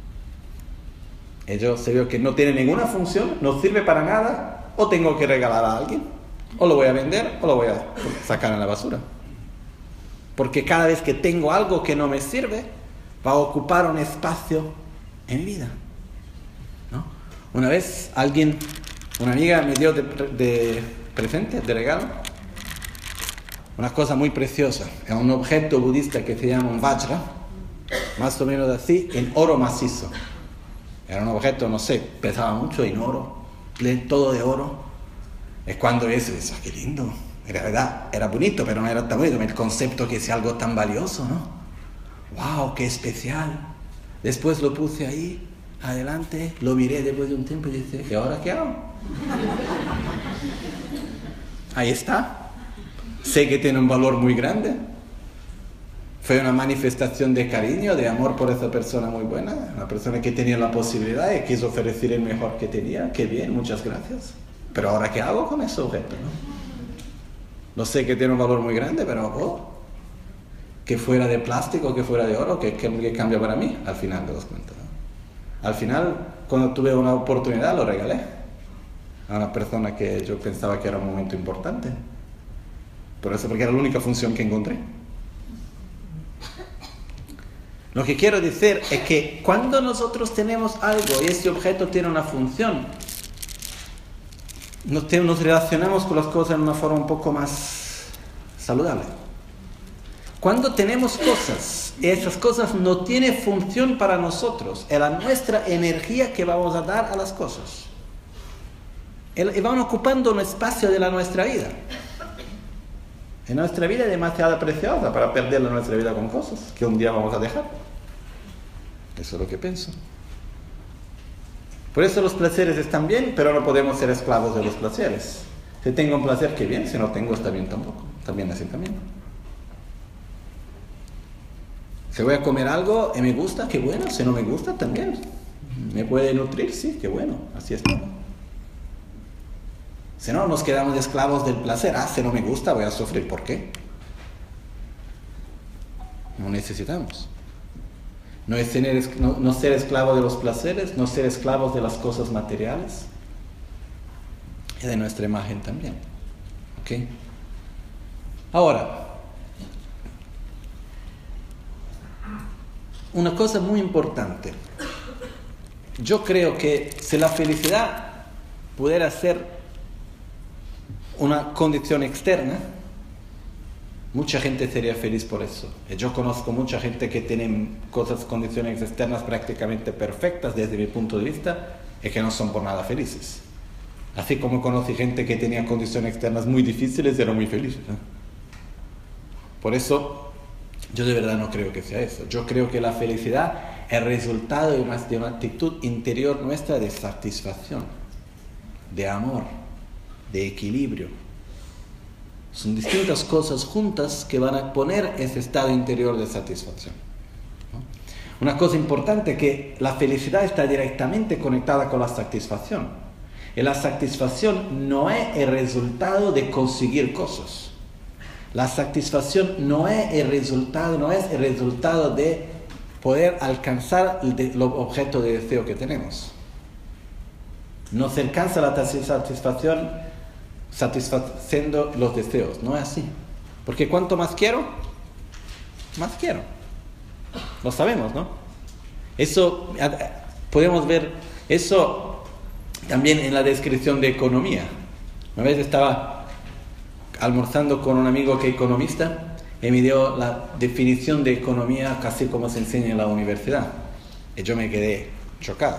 Y yo si veo que no tiene ninguna función, no sirve para nada, o tengo que regalar a alguien, o lo voy a vender, o lo voy a sacar en la basura. Porque cada vez que tengo algo que no me sirve, va a ocupar un espacio en mi vida, ¿no? Una vez alguien, una amiga me dio de... de presente, de regalo, una cosa muy preciosa. Es un objeto budista que se llama un vajra, más o menos así, en oro macizo. Era un objeto, no sé, pesaba mucho en oro, todo de oro. Es cuando ves, eso, qué lindo. En realidad era bonito, pero no era tan bonito. El concepto que es algo tan valioso, ¿no? ¡Wow, qué especial! Después lo puse ahí, adelante, lo miré después de un tiempo y dije, ¿y ahora qué hago? Ahí está. Sé que tiene un valor muy grande. Fue una manifestación de cariño, de amor por esa persona muy buena, una persona que tenía la posibilidad y quiso ofrecer el mejor que tenía. Qué bien, muchas gracias. Pero ahora, ¿qué hago con ese objeto, no? Lo sé que tiene un valor muy grande, pero oh, que fuera de plástico, que fuera de oro, que, que, que cambia para mí al final de los cuentos, ¿no? Al final, cuando tuve una oportunidad, lo regalé a una persona que yo pensaba que era un momento importante. Por eso, porque era la única función que encontré. Lo que quiero decir es que cuando nosotros tenemos algo y ese objeto tiene una función, nos, te, nos relacionamos con las cosas de una forma un poco más saludable. Cuando tenemos cosas y esas cosas no tienen función para nosotros, es la nuestra energía que vamos a dar a las cosas. Y van ocupando un espacio de la nuestra vida. Y nuestra vida es demasiado preciosa para perder nuestra vida con cosas que un día vamos a dejar. Eso es lo que pienso. Por eso los placeres están bien, pero no podemos ser esclavos de los placeres. Si tengo un placer, qué bien. Si no tengo, está bien tampoco. También así también. Si voy a comer algo y me gusta, qué bueno. Si no me gusta, también. ¿Me puede nutrir? Sí, qué bueno. Así es todo. Si no, nos quedamos esclavos del placer. Ah, si no me gusta, voy a sufrir. ¿Por qué? No necesitamos. No es tener, no, no ser esclavo de los placeres, no ser esclavos de las cosas materiales y de nuestra imagen también. ¿Ok? Ahora, una cosa muy importante. Yo creo que si la felicidad pudiera ser una condición externa, mucha gente sería feliz por eso. Yo conozco mucha gente que tiene cosas, condiciones externas prácticamente perfectas desde mi punto de vista y que no son por nada felices. Así como conocí gente que tenía condiciones externas muy difíciles y eran muy felices, ¿eh? Por eso, yo de verdad no creo que sea eso. Yo creo que la felicidad es resultado de una, de una actitud interior nuestra de satisfacción, de amor, de equilibrio. Son distintas cosas juntas que van a poner ese estado interior de satisfacción, ¿no? Una cosa importante es que la felicidad está directamente conectada con la satisfacción. Y la satisfacción no es el resultado de conseguir cosas. La satisfacción no es el resultado, no es el resultado de poder alcanzar el objeto de deseo que tenemos. No se alcanza la satisfacción satisfaciendo los deseos, no es así. Porque cuanto más quiero, más quiero. Lo sabemos, ¿no? Eso podemos ver, eso también en la descripción de economía. Una vez estaba almorzando con un amigo que es economista y me dio la definición de economía casi como se enseña en la universidad. Y yo me quedé chocado.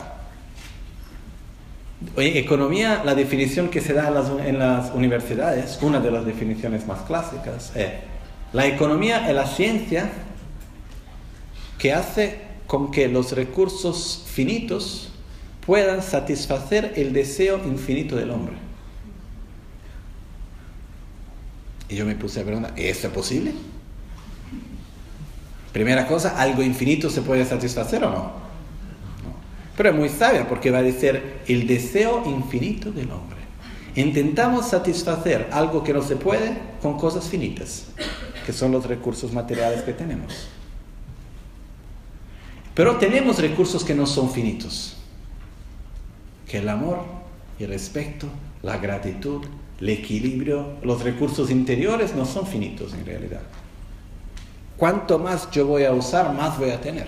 Oye, economía, la definición que se da en las, en las universidades, una de las definiciones más clásicas, es: la economía es la ciencia que hace con que los recursos finitos puedan satisfacer el deseo infinito del hombre. Y yo me puse a preguntar, ¿es eso posible? Primera cosa, ¿algo infinito se puede satisfacer o no? No. Pero es muy sabia porque va a decir el deseo infinito del hombre. Intentamos satisfacer algo que no se puede con cosas finitas, que son los recursos materiales que tenemos. Pero tenemos recursos que no son finitos, que el amor, el respeto, la gratitud, el equilibrio, los recursos interiores no son finitos en realidad. Cuanto más yo voy a usar, más voy a tener.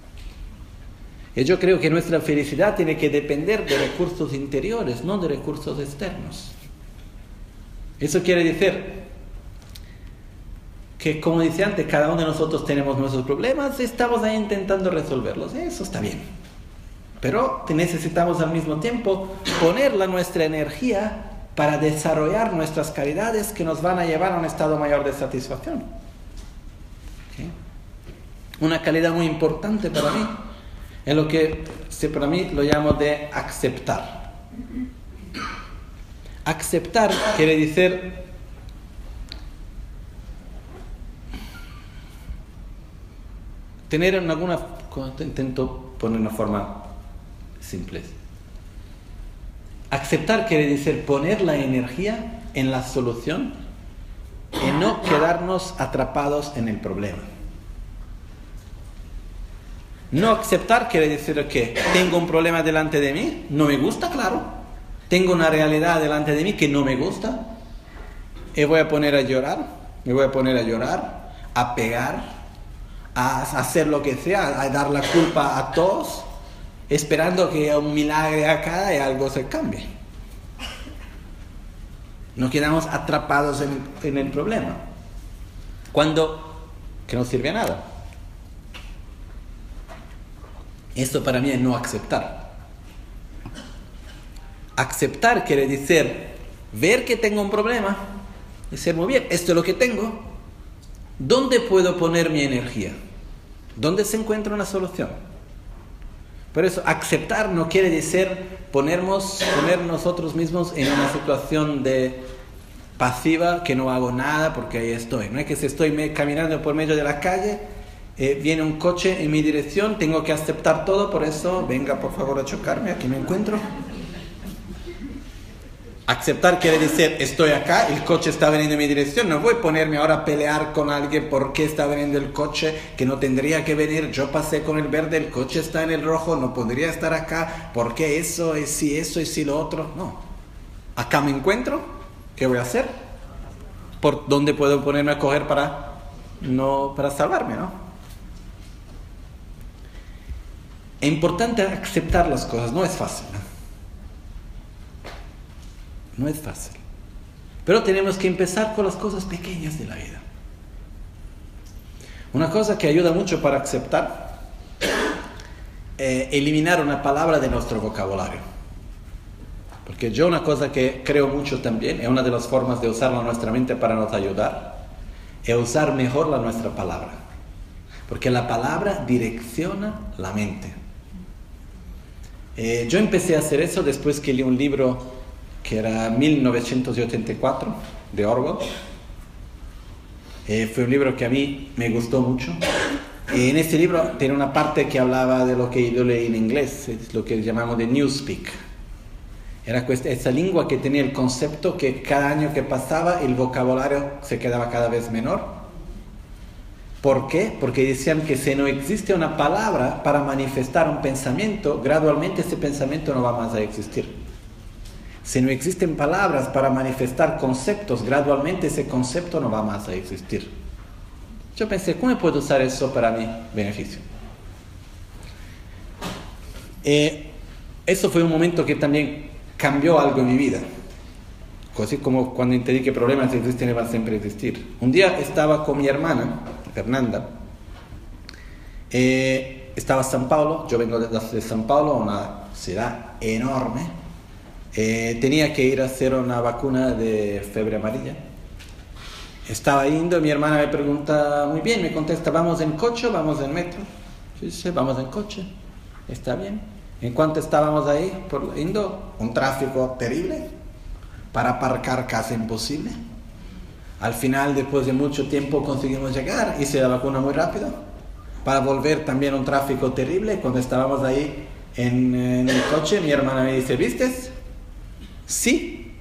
Y yo creo que nuestra felicidad tiene que depender de recursos interiores, no de recursos externos. Eso quiere decir que, como decía antes, cada uno de nosotros tenemos nuestros problemas y estamos ahí intentando resolverlos. Eso está bien. Pero necesitamos al mismo tiempo poner la nuestra energía para desarrollar nuestras calidades que nos van a llevar a un estado mayor de satisfacción. ¿Okay? Una calidad muy importante para mí es lo que para mí lo llamo de aceptar. Aceptar quiere decir tener en alguna, intento poner una forma simple. Aceptar quiere decir poner la energía en la solución en no quedarnos atrapados en el problema. No aceptar quiere decir que tengo un problema delante de mí, no me gusta, claro. Tengo una realidad delante de mí que no me gusta. Y voy a poner a llorar, me voy a poner a llorar, a pegar, a hacer lo que sea, a dar la culpa a todos, esperando que un milagro acá y algo se cambie. No quedamos atrapados en, en el problema. Cuando que no sirve a nada. Esto para mí es no aceptar. Aceptar quiere decir ver que tengo un problema, decir muy bien, esto es lo que tengo. ¿Dónde puedo poner mi energía? ¿Dónde se encuentra una solución? Por eso, aceptar no quiere decir ponernos, poner nosotros mismos en una situación de pasiva, que no hago nada porque ahí estoy. No es que si estoy me, caminando por medio de la calle, eh, viene un coche en mi dirección, tengo que aceptar todo, por eso venga por favor a chocarme, aquí me encuentro. Aceptar quiere decir, estoy acá, el coche está veniendo en mi dirección, no voy a ponerme ahora a pelear con alguien porque está veniendo el coche que no tendría que venir, yo pasé con el verde, el coche está en el rojo, no podría estar acá, porque eso, y si eso, y si lo otro, no. Acá me encuentro, ¿qué voy a hacer? ¿Por dónde puedo ponerme a coger para, no, para salvarme, no? Es importante aceptar las cosas, no es fácil, ¿no? No es fácil. Pero tenemos que empezar con las cosas pequeñas de la vida. Una cosa que ayuda mucho para aceptar, eh, eliminar una palabra de nuestro vocabulario. Porque yo una cosa que creo mucho también, es una de las formas de usar nuestra mente para nos ayudar, es usar mejor la nuestra palabra. Porque la palabra direcciona la mente. Eh, yo empecé a hacer eso después que leí un libro que era mil novecientos ochenta y cuatro, de Orwell. Eh, fue un libro que a mí me gustó mucho. Eh, en este libro tiene una parte que hablaba de lo que yo leí en inglés, es lo que llamamos de Newspeak. Era esa lengua que tenía el concepto que cada año que pasaba el vocabulario se quedaba cada vez menor. ¿Por qué? Porque decían que si no existe una palabra para manifestar un pensamiento, gradualmente ese pensamiento no va más a existir. Si no existen palabras para manifestar conceptos, gradualmente ese concepto no va más a existir. Yo pensé, ¿cómo puedo usar eso para mi beneficio? Eh, eso fue un momento que también cambió algo en mi vida. Así como cuando entendí que problemas existen y van a siempre existir. Un día estaba con mi hermana, Fernanda. Eh, estaba en San Paulo, yo vengo de, de San Paulo, una ciudad enorme. Eh, tenía que ir a hacer una vacuna de fiebre amarilla. Estaba yendo, mi hermana me pregunta, muy bien, me contesta, ¿vamos en coche o vamos en metro? Yo dije, vamos en coche, está bien. En cuanto estábamos ahí, por yendo, un tráfico terrible, para aparcar casi imposible. Al final, después de mucho tiempo, conseguimos llegar, hice la vacuna muy rápido. Para volver también un tráfico terrible, cuando estábamos ahí en, en el coche, mi hermana me dice, ¿vistes? Sí.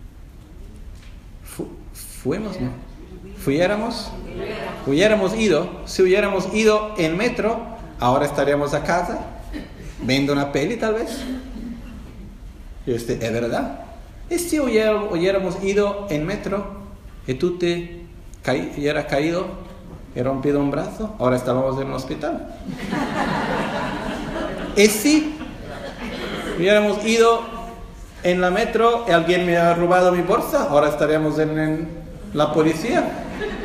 Fu- fuimos, ¿no? Fuéramos, hubiéramos ido, si hubiéramos ido en metro, ahora estaríamos a casa, viendo una peli tal vez. Y este, ¿es verdad? Y si hubiéramos, hubiéramos ido en metro y tú te caí, hubieras caído y rompido un brazo, ahora estábamos en un hospital. Y si hubiéramos ido en la metro y alguien me ha robado mi bolsa, ahora estaríamos en, en la policía.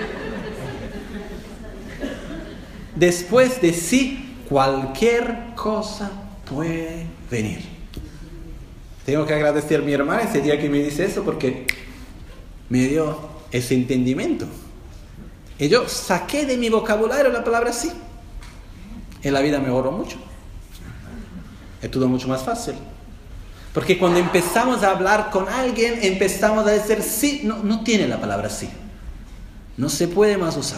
Después de sí, cualquier cosa puede venir. Tengo que agradecer a mi hermana ese día que me dice eso, porque me dio ese entendimiento. Y yo saqué de mi vocabulario la palabra sí. En la vida mejoró mucho. Es todo mucho más fácil. Porque cuando empezamos a hablar con alguien, empezamos a decir sí, no, no tiene la palabra sí. No se puede más usar.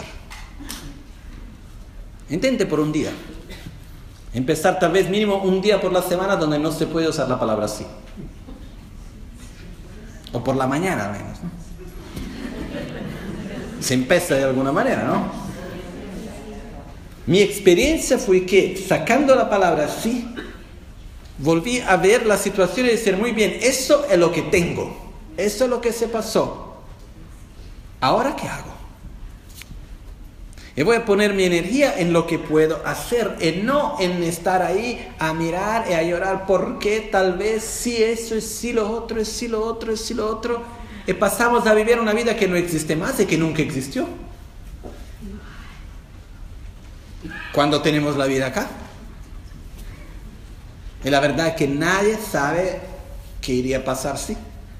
Intente por un día. Empezar tal vez mínimo un día por la semana donde no se puede usar la palabra sí. O por la mañana al menos, ¿no? Se empieza de alguna manera, ¿no? Mi experiencia fue que, sacando la palabra sí, volví a ver la situación y decir, muy bien, eso es lo que tengo, eso es lo que se pasó. ¿Ahora qué hago? Y voy a poner mi energía en lo que puedo hacer, y no en estar ahí a mirar y a llorar porque tal vez sí eso, es sí lo otro, es sí lo otro, es sí lo otro. Y pasamos a vivir una vida que no existe más y que nunca existió. ¿Cuándo tenemos la vida acá? Y la verdad es que nadie sabe qué iría a pasar si.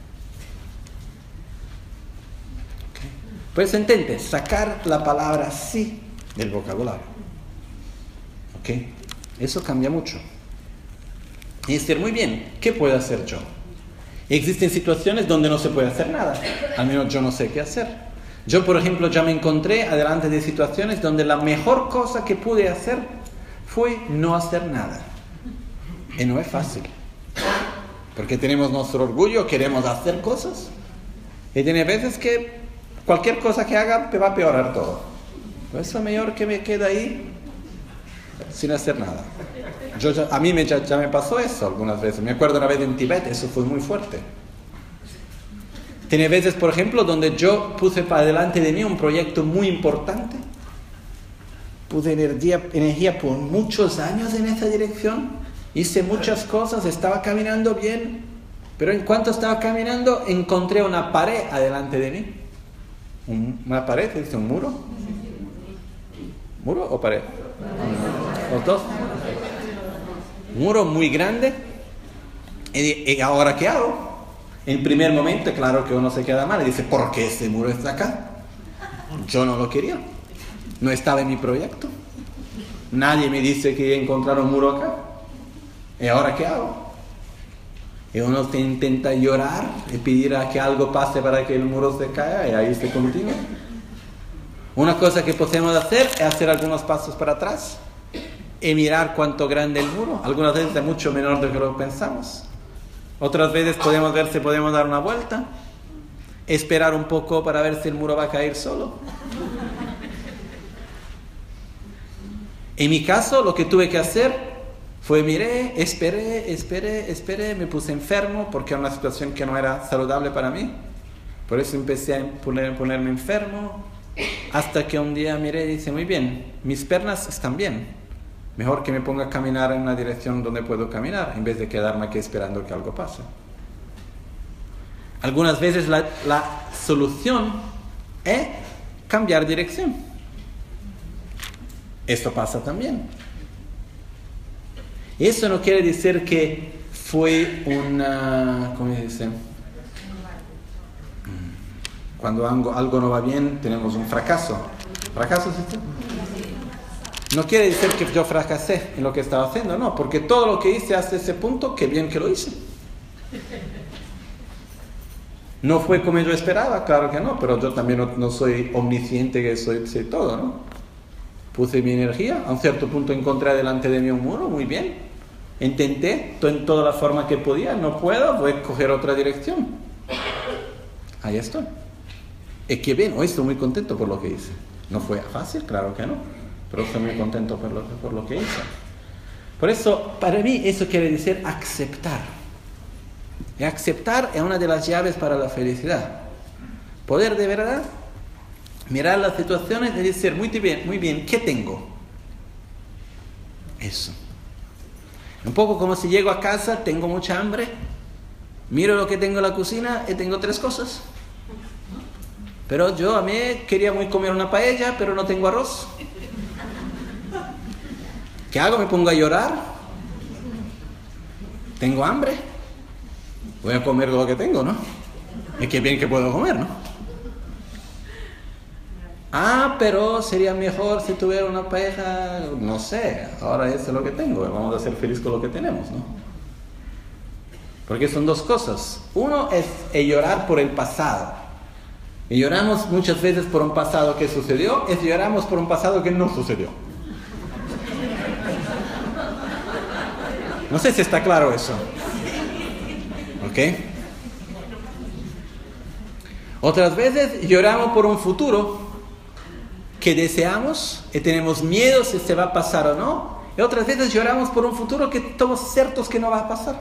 Pues intente sacar la palabra sí del vocabulario. ¿Ok? Eso cambia mucho. Y decir, muy bien, ¿qué puedo hacer yo? Existen situaciones donde no se puede hacer nada. Al menos yo no sé qué hacer. Yo, por ejemplo, ya me encontré adelante de situaciones donde la mejor cosa que pude hacer fue no hacer nada. Y no es fácil. Porque tenemos nuestro orgullo, queremos hacer cosas. Y tiene veces que cualquier cosa que haga me va a empeorar todo. Por eso es mejor que me quede ahí sin hacer nada. Yo ya, a mí me, ya, ya me pasó eso algunas veces. Me acuerdo una vez en Tibet, eso fue muy fuerte. Tiene veces, por ejemplo, donde yo puse para delante de mí un proyecto muy importante. Puse energía, energía por muchos años en esa dirección. Hice muchas cosas, estaba caminando bien. Pero en cuanto estaba caminando, encontré una pared adelante de mí. ¿Una pared? ¿Se dice un muro? ¿Muro o pared? Los dos. Un muro muy grande. ¿Y, y ahora qué hago? En primer momento, claro que uno se queda mal y dice, ¿por qué ese muro está acá? Yo no lo quería. No estaba en mi proyecto. Nadie me dice que encontrar un muro acá. ¿Y ahora qué hago? Y uno te intenta llorar y pedir a que algo pase para que el muro se caiga y ahí se continúa. Una cosa que podemos hacer es hacer algunos pasos para atrás y mirar cuánto grande el muro. Algunas veces es mucho menor de lo que lo pensamos. Otras veces podemos ver si podemos dar una vuelta, esperar un poco para ver si el muro va a caer solo. En mi caso, lo que tuve que hacer fue miré, esperé, esperé, esperé, me puse enfermo porque era una situación que no era saludable para mí. Por eso empecé a poner, ponerme enfermo, hasta que un día miré y dije, muy bien, mis piernas están bien. Mejor que me ponga a caminar en una dirección donde puedo caminar, en vez de quedarme aquí esperando que algo pase. Algunas veces la, la solución es cambiar dirección. Esto pasa también. Eso no quiere decir que fue una... ¿Cómo se dice? Cuando algo, algo no va bien, tenemos un fracaso. ¿Fracaso es esto? No quiere decir que yo fracasé en lo que estaba haciendo, no, porque todo lo que hice hasta ese punto, qué bien que lo hice. No fue como yo esperaba, claro que no, pero yo también no, no soy omnisciente, que soy, soy todo, ¿no? Puse mi energía, a un cierto punto encontré delante de mí un muro, muy bien. Intenté en toda la forma que podía, no puedo, voy a coger otra dirección. Ahí estoy. Es que bien, hoy estoy muy contento por lo que hice. No fue fácil, claro que no. Pero estoy muy contento por lo, por lo que hice. Por eso, para mí, eso quiere decir aceptar. Y aceptar es una de las llaves para la felicidad. Poder de verdad mirar las situaciones y decir, muy bien, muy bien, ¿qué tengo? Eso. Un poco como si llego a casa, tengo mucha hambre, miro lo que tengo en la cocina y tengo tres cosas. Pero yo a mí quería muy comer una paella, pero no tengo arroz. ¿Qué hago? ¿Me pongo a llorar? ¿Tengo hambre? Voy a comer lo que tengo, ¿no? Es que bien que puedo comer, ¿no? Ah, pero sería mejor si tuviera una pareja, no sé, ahora eso es lo que tengo, vamos a ser felices con lo que tenemos, ¿no? Porque son dos cosas. Uno es el llorar por el pasado. Y lloramos muchas veces por un pasado que sucedió, y lloramos por un pasado que no sucedió. No sé si está claro eso. ¿Ok? Otras veces lloramos por un futuro que deseamos y tenemos miedo si se va a pasar o no, y otras veces lloramos por un futuro que estamos ciertos que no va a pasar.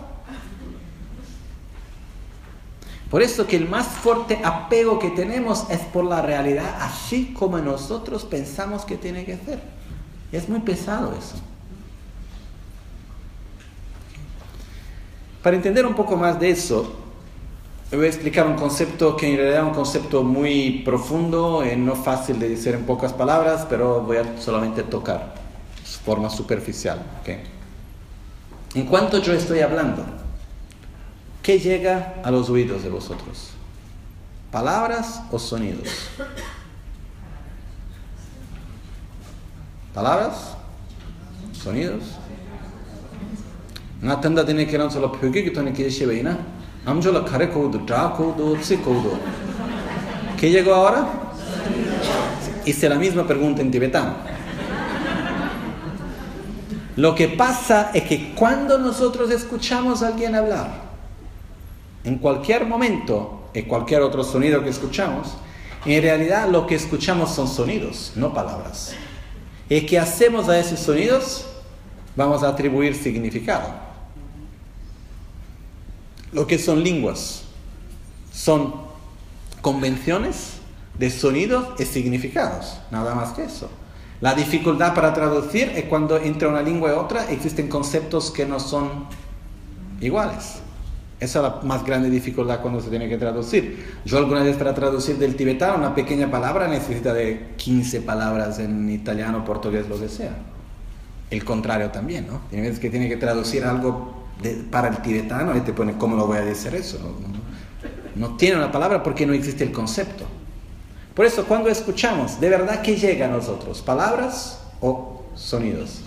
Por eso que el más fuerte apego que tenemos es por la realidad, así como nosotros pensamos que tiene que ser. Y es muy pesado eso. Para entender un poco más de eso, voy a explicar un concepto que en realidad es un concepto muy profundo y no fácil de decir en pocas palabras, pero voy a solamente tocar de forma superficial. ¿Okay? En cuanto yo estoy hablando, ¿qué llega a los oídos de vosotros? ¿Palabras o sonidos? ¿Palabras? ¿Sonidos? Nga tanda tiene que lanzar la pyoge que tiene que llevar ina. Amjola kare koudo, dra koudo, tsi koudo. ¿Qué llegó ahora? Hice la misma pregunta en tibetano. Lo que pasa es que cuando nosotros escuchamos a alguien hablar, en cualquier momento, en cualquier otro sonido que escuchamos, en realidad lo que escuchamos son sonidos, no palabras. ¿Y qué hacemos a esos sonidos? Vamos a atribuir significado. Lo que son lenguas son convenciones de sonidos y significados, nada más que eso. La dificultad para traducir es cuando entre una lengua y otra existen conceptos que no son iguales. Esa es la más grande dificultad cuando se tiene que traducir. Yo alguna vez para traducir del tibetano una pequeña palabra necesita de quince palabras en italiano, portugués, lo que sea. El contrario también, ¿no? Tiene veces que tiene que traducir algo de, para el tibetano y te pone, ¿cómo lo voy a decir eso? No, no, no tiene una palabra porque no existe el concepto. Por eso cuando escuchamos, ¿de verdad qué llega a nosotros? ¿Palabras o sonidos?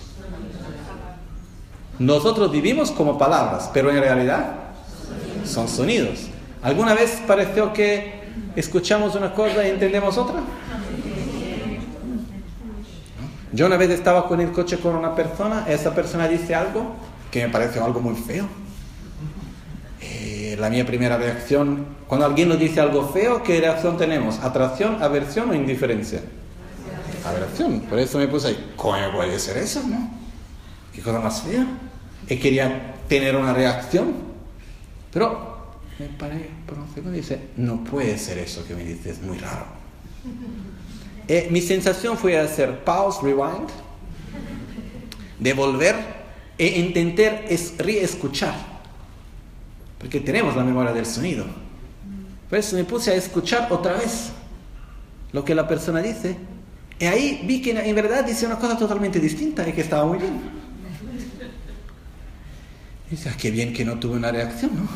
Nosotros vivimos como palabras, pero en realidad son sonidos. ¿Alguna vez pareció que escuchamos una cosa y entendemos otra? Yo una vez estaba con el coche con una persona, esa persona dice algo que me pareció algo muy feo. Eh, la mía primera reacción, cuando alguien nos dice algo feo, ¿qué reacción tenemos? ¿Atracción, aversión o indiferencia? Aversión. Por eso me puse ahí, ¿cómo puede ser eso, no? ¿Qué cosa más fea? Y quería tener una reacción, pero me paré por un segundo y dice, no puede ser eso que me dices, es muy raro. Eh, mi sensación fue hacer pause, rewind, devolver e intentar es reescuchar, porque tenemos la memoria del sonido. Por eso me puse a escuchar otra vez lo que la persona dice, y ahí vi que en verdad dice una cosa totalmente distinta y que estaba muy bien. Y dice, ah, qué bien que no tuve una reacción, ¿no?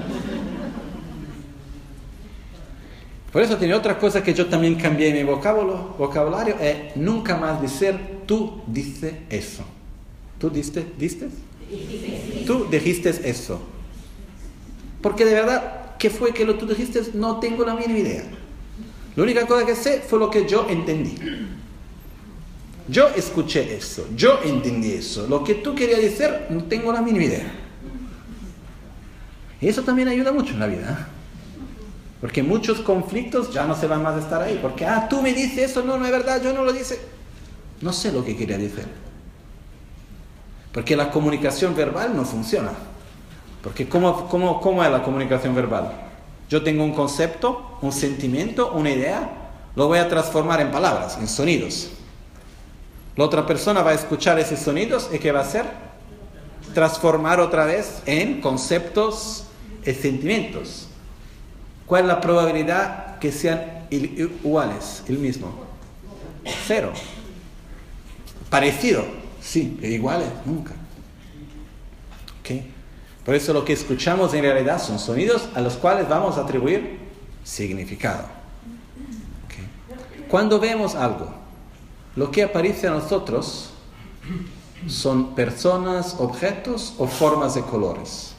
Por eso tiene otra cosa que yo también cambié en mi vocabulario, vocabulario es nunca más decir tú dices eso. ¿Tú diste, diste? Tú dijiste eso. Porque de verdad, ¿qué fue que lo tú dijiste? No tengo la mínima idea. La única cosa que sé fue lo que yo entendí. Yo escuché eso, yo entendí eso. Lo que tú querías decir, no tengo la mínima idea. Y eso también ayuda mucho en la vida, ¿eh? Porque muchos conflictos ya no se van más a estar ahí. Porque, ah, tú me dices eso, no, no es verdad, yo no lo dice. No sé lo que quería decir. Porque la comunicación verbal no funciona. Porque ¿cómo, cómo, cómo es la comunicación verbal? Yo tengo un concepto, un sentimiento, una idea, lo voy a transformar en palabras, en sonidos. La otra persona va a escuchar esos sonidos y ¿qué va a hacer? Transformar otra vez en conceptos y sentimientos. ¿Cuál es la probabilidad que sean iguales, el mismo? Cero. Parecido, sí, iguales, nunca. ¿Okay? Por eso lo que escuchamos en realidad son sonidos a los cuales vamos a atribuir significado. ¿Okay? Cuando vemos algo, lo que aparece a nosotros son personas, objetos o formas de colores.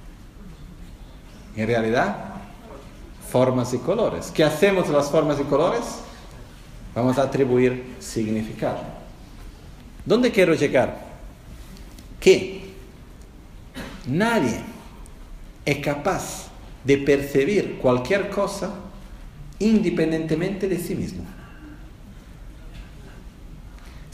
En realidad, formas y colores. ¿Qué hacemos con las formas y colores? Vamos a atribuir significado. ¿Dónde quiero llegar? Que nadie es capaz de percibir cualquier cosa independientemente de sí mismo.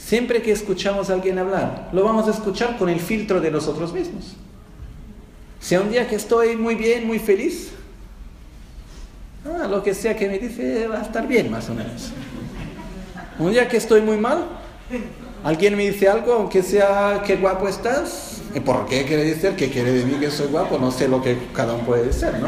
Siempre que escuchamos a alguien hablar, lo vamos a escuchar con el filtro de nosotros mismos. Si un día que estoy muy bien, muy feliz, ah, lo que sea que me dice va a estar bien, más o menos. Un día que estoy muy mal, alguien me dice algo, aunque sea qué guapo estás. ¿Y por qué quiere decir? ¿Qué quiere de mí que soy guapo? No sé lo que cada uno puede decir, ¿no?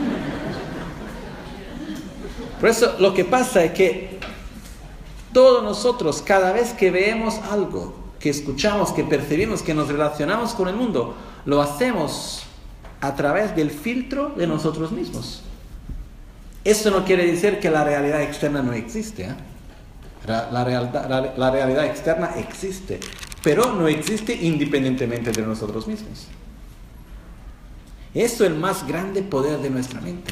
Por eso lo que pasa es que todos nosotros, cada vez que vemos algo, que escuchamos, que percibimos, que nos relacionamos con el mundo, lo hacemos a través del filtro de nosotros mismos. Eso no quiere decir que la realidad externa no existe, ¿eh? La, la, realidad, la, la realidad externa existe, pero no existe independientemente de nosotros mismos. Eso es el más grande poder de nuestra mente.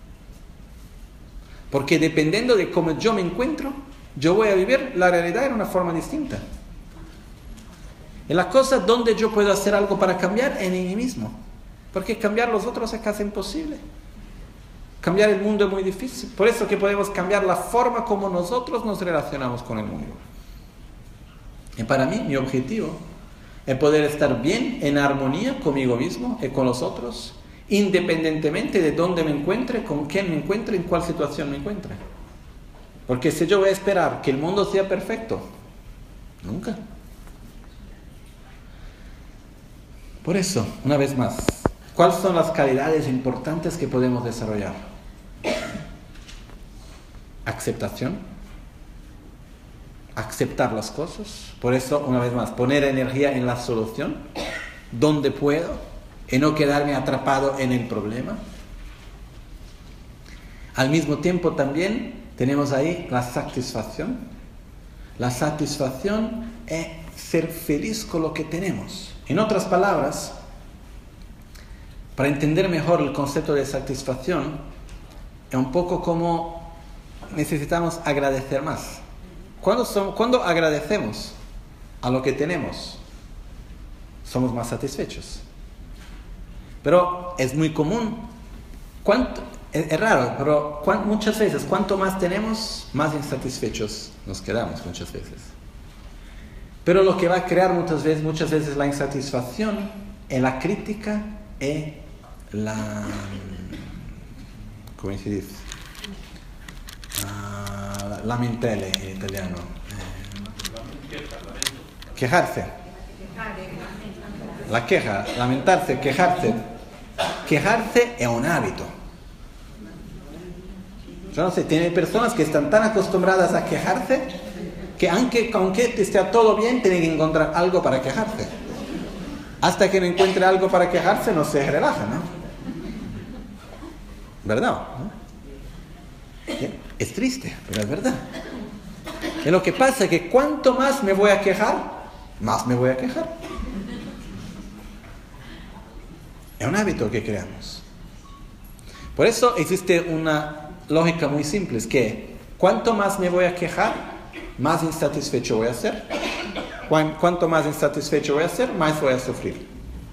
Porque dependiendo de cómo yo me encuentro, yo voy a vivir la realidad en una forma distinta. Y la cosa donde yo puedo hacer algo para cambiar en mí mismo. Porque cambiar los otros es casi imposible. Cambiar el mundo es muy difícil. Por eso que podemos cambiar la forma como nosotros nos relacionamos con el mundo. Y para mí, mi objetivo es poder estar bien, en armonía conmigo mismo y con los otros, independientemente de dónde me encuentre, con quién me encuentre, en cuál situación me encuentre. Porque si yo voy a esperar que el mundo sea perfecto, nunca. Por eso, una vez más, ¿cuáles son las calidades importantes que podemos desarrollar? Aceptación. Aceptar las cosas. Por eso, una vez más, poner energía en la solución, donde puedo, y no quedarme atrapado en el problema. Al mismo tiempo también tenemos ahí la satisfacción. La satisfacción es ser feliz con lo que tenemos. En otras palabras, para entender mejor el concepto de satisfacción, es un poco como necesitamos agradecer más. Cuando, son, cuando agradecemos a lo que tenemos, somos más satisfechos. Pero es muy común, ¿cuánto? Es, es raro, pero ¿cuánto, muchas veces cuanto más tenemos, más insatisfechos nos quedamos muchas veces. Pero lo que va a crear muchas veces, muchas veces la insatisfacción es la crítica y la... ¿cómo se dice? Uh, lamentele en italiano. Eh, quejarse. La queja, lamentarse, quejarse. Quejarse es un hábito. Yo no sé, tiene personas que están tan acostumbradas a quejarse que aunque, aunque esté todo bien, tienen que encontrar algo para quejarse. Hasta que no encuentre algo para quejarse, no se relaja, ¿no? ¿Verdad? ¿No? Es triste, pero es verdad. Y lo que pasa es que cuanto más me voy a quejar, más me voy a quejar. Es un hábito que creamos. Por eso existe una lógica muy simple, es que cuanto más me voy a quejar, más insatisfecho voy a ser. Cuanto más insatisfecho voy a ser, más voy a sufrir.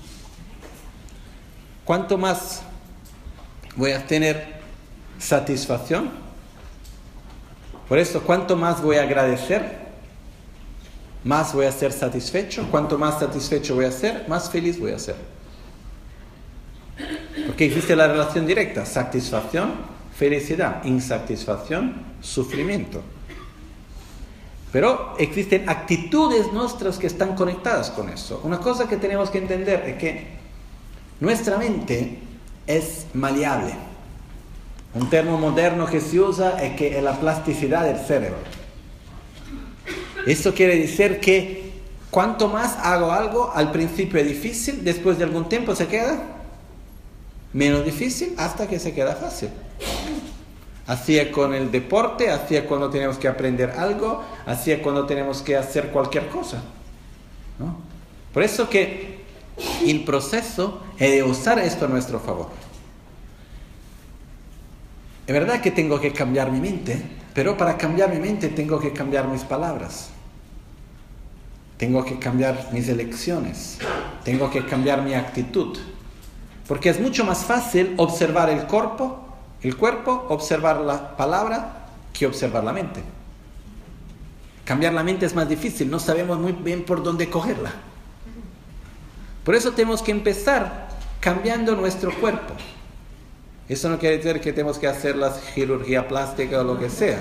Cuanto más voy a tener satisfacción, por eso cuanto más voy a agradecer, más voy a ser satisfecho. Cuanto más satisfecho voy a ser, más feliz voy a ser. Porque existe la relación directa: satisfacción, felicidad; insatisfacción, sufrimiento. Pero existen actitudes nuestras que están conectadas con eso. Una cosa que tenemos que entender es que nuestra mente es maleable. Un término moderno que se usa es que es la plasticidad del cerebro. Eso quiere decir que cuanto más hago algo, al principio es difícil, después de algún tiempo se queda menos difícil hasta que se queda fácil. Así es con el deporte, así es cuando tenemos que aprender algo, así es cuando tenemos que hacer cualquier cosa, ¿no? Por eso que el proceso es de usar esto a nuestro favor. Es verdad que tengo que cambiar mi mente, pero para cambiar mi mente tengo que cambiar mis palabras. Tengo que cambiar mis elecciones. Tengo que cambiar mi actitud. Porque es mucho más fácil observar el cuerpo, el cuerpo, observar la palabra, que observar la mente. Cambiar la mente es más difícil, no sabemos muy bien por dónde cogerla. Por eso tenemos que empezar cambiando nuestro cuerpo. Eso no quiere decir que tenemos que hacer la cirugía plástica o lo que sea.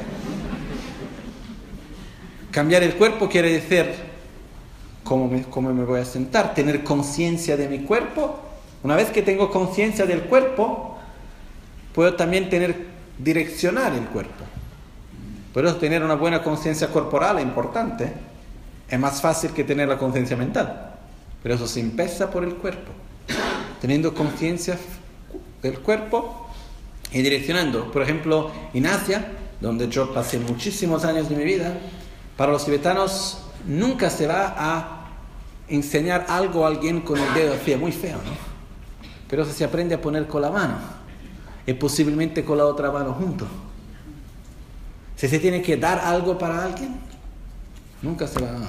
Cambiar el cuerpo quiere decir cómo me, cómo me voy a sentar, tener conciencia de mi cuerpo. Una vez que tengo conciencia del cuerpo, puedo también tener, direccionar el cuerpo. Por eso tener una buena conciencia corporal es importante. Es más fácil que tener la conciencia mental. Pero eso se empieza por el cuerpo. Teniendo conciencia del cuerpo y direccionando. Por ejemplo, en Asia, donde yo pasé muchísimos años de mi vida, para los tibetanos nunca se va a enseñar algo a alguien con el dedo así, muy feo, ¿no? Pero eso se aprende a poner con la mano y posiblemente con la otra mano junto. Si se tiene que dar algo para alguien, nunca se va a...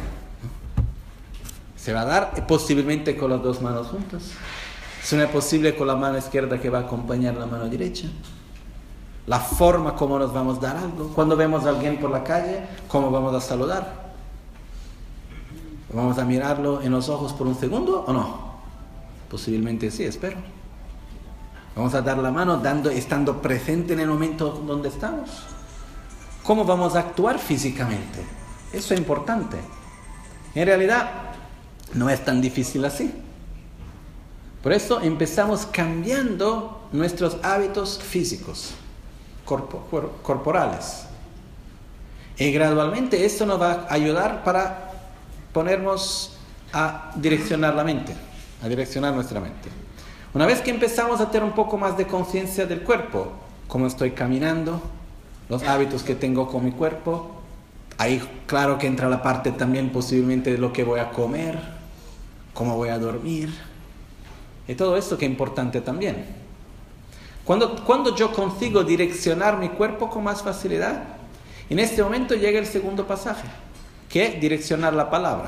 Se va a dar posiblemente con las dos manos juntas. Si no es posible con la mano izquierda que va a acompañar la mano derecha. La forma como nos vamos a dar algo. Cuando vemos a alguien por la calle, ¿cómo vamos a saludar? ¿Vamos a mirarlo en los ojos por un segundo o no? Posiblemente sí, espero. Vamos a dar la mano dando, estando presente en el momento donde estamos. ¿Cómo vamos a actuar físicamente? Eso es importante. En realidad, no es tan difícil así. Por eso empezamos cambiando nuestros hábitos físicos, corpo, cor, corporales. Y gradualmente esto nos va a ayudar para ponernos a direccionar la mente, a direccionar nuestra mente. Una vez que empezamos a tener un poco más de conciencia del cuerpo, cómo estoy caminando, los hábitos que tengo con mi cuerpo, ahí claro que entra la parte también posiblemente de lo que voy a comer, cómo voy a dormir, y todo esto que es importante también. Cuando, cuando yo consigo direccionar mi cuerpo con más facilidad, en este momento llega el segundo pasaje, que es direccionar la palabra.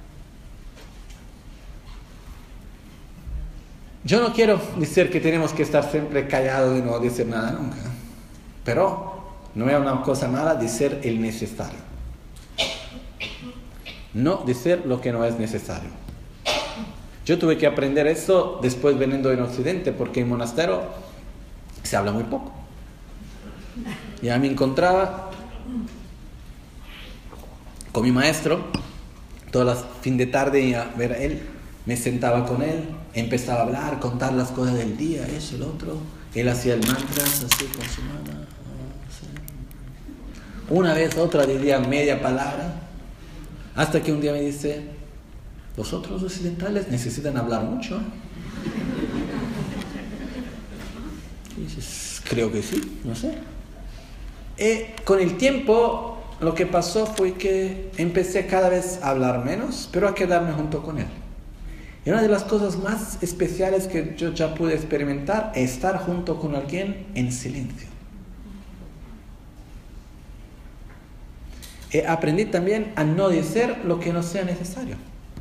Yo no quiero decir que tenemos que estar siempre callados y no decir nada nunca, pero no es una cosa mala decir el necesario. No decir lo que no es necesario. Yo tuve que aprender eso después veniendo en Occidente, porque en monasterio se habla muy poco. Ya me encontraba con mi maestro, todas las fin de tarde a ver a él, me sentaba con él, empezaba a hablar, contar las cosas del día, eso, el otro. Él hacía el mantra así con su mano. Una vez, otra diría media palabra, hasta que un día me dice, los otros occidentales necesitan hablar mucho. Y dices, creo que sí, no sé. Y con el tiempo, lo que pasó fue que empecé cada vez a hablar menos, pero a quedarme junto con él. Y una de las cosas más especiales que yo ya pude experimentar es estar junto con alguien en silencio. Y aprendí también a no decir lo que no sea necesario.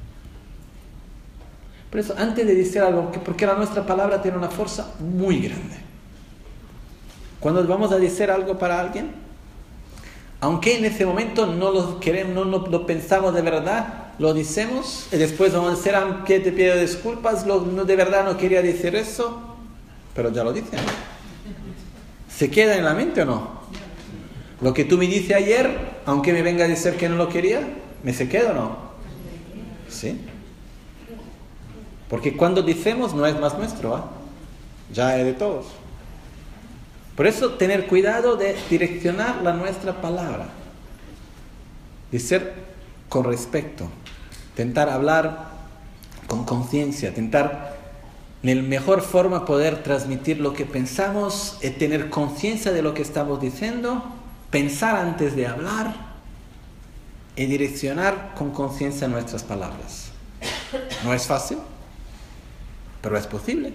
Por eso, antes de decir algo, porque la nuestra palabra tiene una fuerza muy grande. Cuando vamos a decir algo para alguien, aunque en ese momento no lo queremos, no, no lo pensamos de verdad, lo decimos y después vamos a decir, aunque te pido disculpas, lo, no, de verdad no quería decir eso, pero ya lo dicen. ¿Se queda en la mente o no? Lo que tú me dices ayer, aunque me venga a decir que no lo quería, ¿me se queda o no? ¿Sí? Porque cuando decimos no es más nuestro, ¿eh? Ya es de todos. Por eso tener cuidado de direccionar la nuestra palabra. Decir con respeto. Intentar hablar con conciencia. Intentar en la mejor forma poder transmitir lo que pensamos, y tener conciencia de lo que estamos diciendo, pensar antes de hablar y direccionar con conciencia nuestras palabras. No es fácil, pero es posible.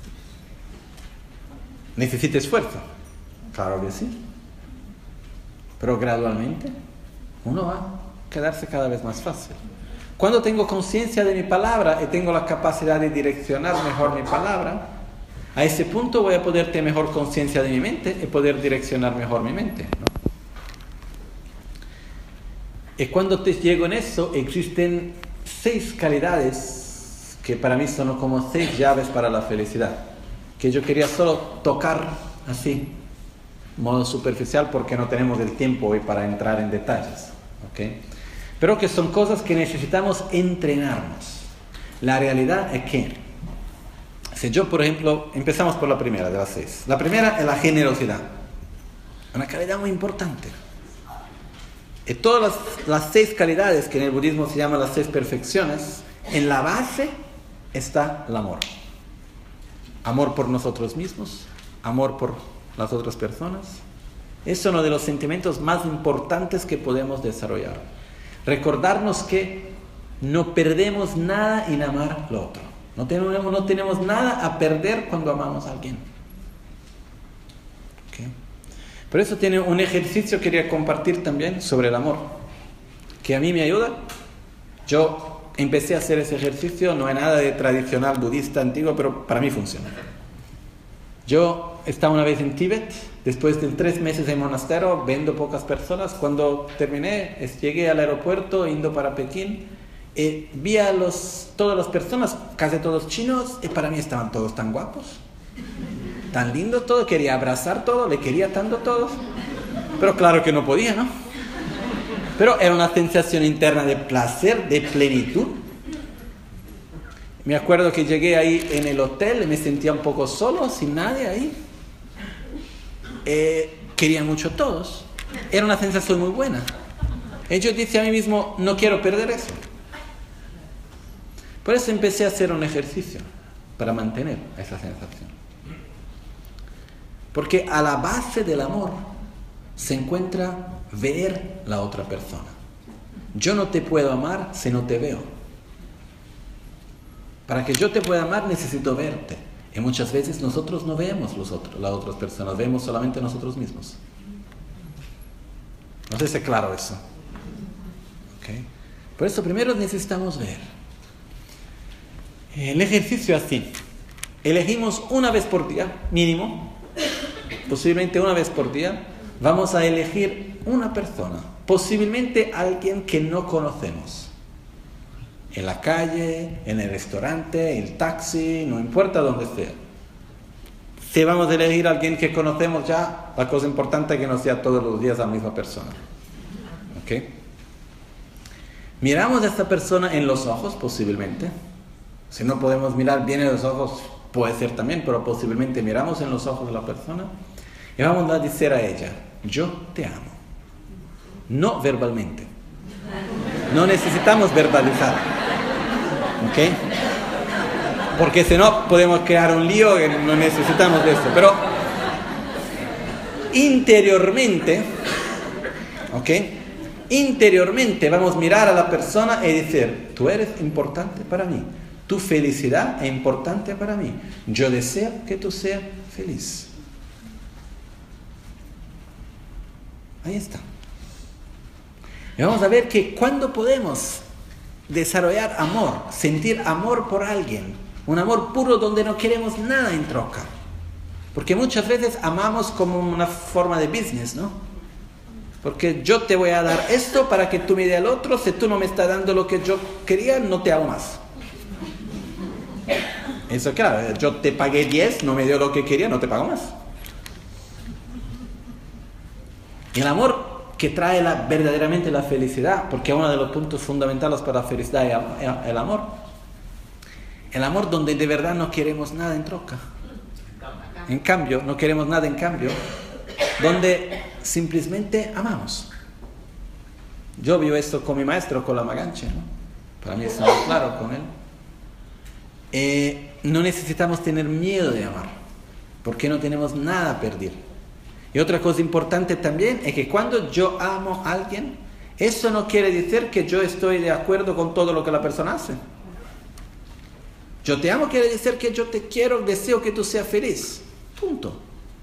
Necesita esfuerzo, claro que sí, pero gradualmente uno va a quedarse cada vez más fácil. Cuando tengo conciencia de mi palabra y tengo la capacidad de direccionar mejor mi palabra, a ese punto voy a poder tener mejor conciencia de mi mente y poder direccionar mejor mi mente, ¿no? Y cuando te llego en eso, existen seis calidades que para mí son como seis llaves para la felicidad, que yo quería solo tocar así, modo superficial, porque no tenemos el tiempo hoy para entrar en detalles, ¿okay? Pero que son cosas que necesitamos entrenarnos. La realidad es que, si yo, por ejemplo, empezamos por la primera de las seis. La primera es la generosidad, una calidad muy importante. Y todas las, las seis calidades que en el budismo se llaman las seis perfecciones, en la base está el amor. Amor por nosotros mismos, amor por las otras personas. Es uno de los sentimientos más importantes que podemos desarrollar. Recordarnos que no perdemos nada en amar lo otro. No tenemos, no tenemos nada a perder cuando amamos a alguien. ¿Okay? Por eso tiene un ejercicio que quería compartir también sobre el amor, que a mí me ayuda. Yo empecé a hacer ese ejercicio, no es nada de tradicional budista antiguo, pero para mí funciona. Yo estaba una vez en Tíbet, después de tres meses en monasterio, viendo pocas personas. Cuando terminé, llegué al aeropuerto, yendo para Pekín, eh, vi a los, todas las personas, casi todos chinos, y para mí estaban todos tan guapos, tan lindos todos, quería abrazar todo, le quería tanto todos, pero claro que no podía, ¿no? Pero era una sensación interna de placer, de plenitud. Me acuerdo que llegué ahí en el hotel y me sentía un poco solo, sin nadie ahí. Eh, querían mucho todos. Era una sensación muy buena. Y yo dije a mí mismo, no quiero perder eso. Por eso empecé a hacer un ejercicio para mantener esa sensación. Porque a la base del amor se encuentra ver la otra persona. Yo no te puedo amar si no te veo. Para que yo te pueda amar necesito verte. Y muchas veces nosotros no vemos los otros, las otras personas, vemos solamente nosotros mismos. No sé si es claro eso. ¿Okay? Por eso primero necesitamos ver. El ejercicio es así. Elegimos una vez por día, mínimo, posiblemente una vez por día, vamos a elegir una persona, posiblemente alguien que no conocemos. En la calle, en el restaurante, el taxi, no importa dónde sea. Si vamos a elegir a alguien que conocemos ya, la cosa importante es que no sea todos los días la misma persona. ¿Ok? Miramos a esta persona en los ojos, posiblemente. Si no podemos mirar bien en los ojos, puede ser también, pero posiblemente miramos en los ojos de la persona y vamos a decir a ella, yo te amo. No verbalmente. No necesitamos verbalizar. ¿Ok? Porque si no podemos crear un lío que no necesitamos de eso. Pero interiormente, ¿ok? Interiormente vamos a mirar a la persona y decir, tú eres importante para mí. Tu felicidad es importante para mí. Yo deseo que tú seas feliz. Ahí está. Y vamos a ver que cuando podemos desarrollar amor, sentir amor por alguien, un amor puro donde no queremos nada en troca. Porque muchas veces amamos como una forma de business, ¿no? Porque yo te voy a dar esto para que tú me des el otro, si tú no me estás dando lo que yo quería, no te hago más. Eso claro, yo te pagué diez, no me dio lo que quería, no te pago más. El amor que trae la, verdaderamente la felicidad, porque uno de los puntos fundamentales para la felicidad es el amor. El amor donde de verdad no queremos nada en troca. En cambio, no queremos nada en cambio, donde simplemente amamos. Yo vivo esto con mi maestro, con la Maganche, ¿no? Para mí es muy claro con él. Eh, no necesitamos tener miedo de amar, porque no tenemos nada a perder. Y otra cosa importante también es que cuando yo amo a alguien, eso no quiere decir que yo estoy de acuerdo con todo lo que la persona hace. Yo te amo quiere decir que yo te quiero, deseo que tú seas feliz. Punto.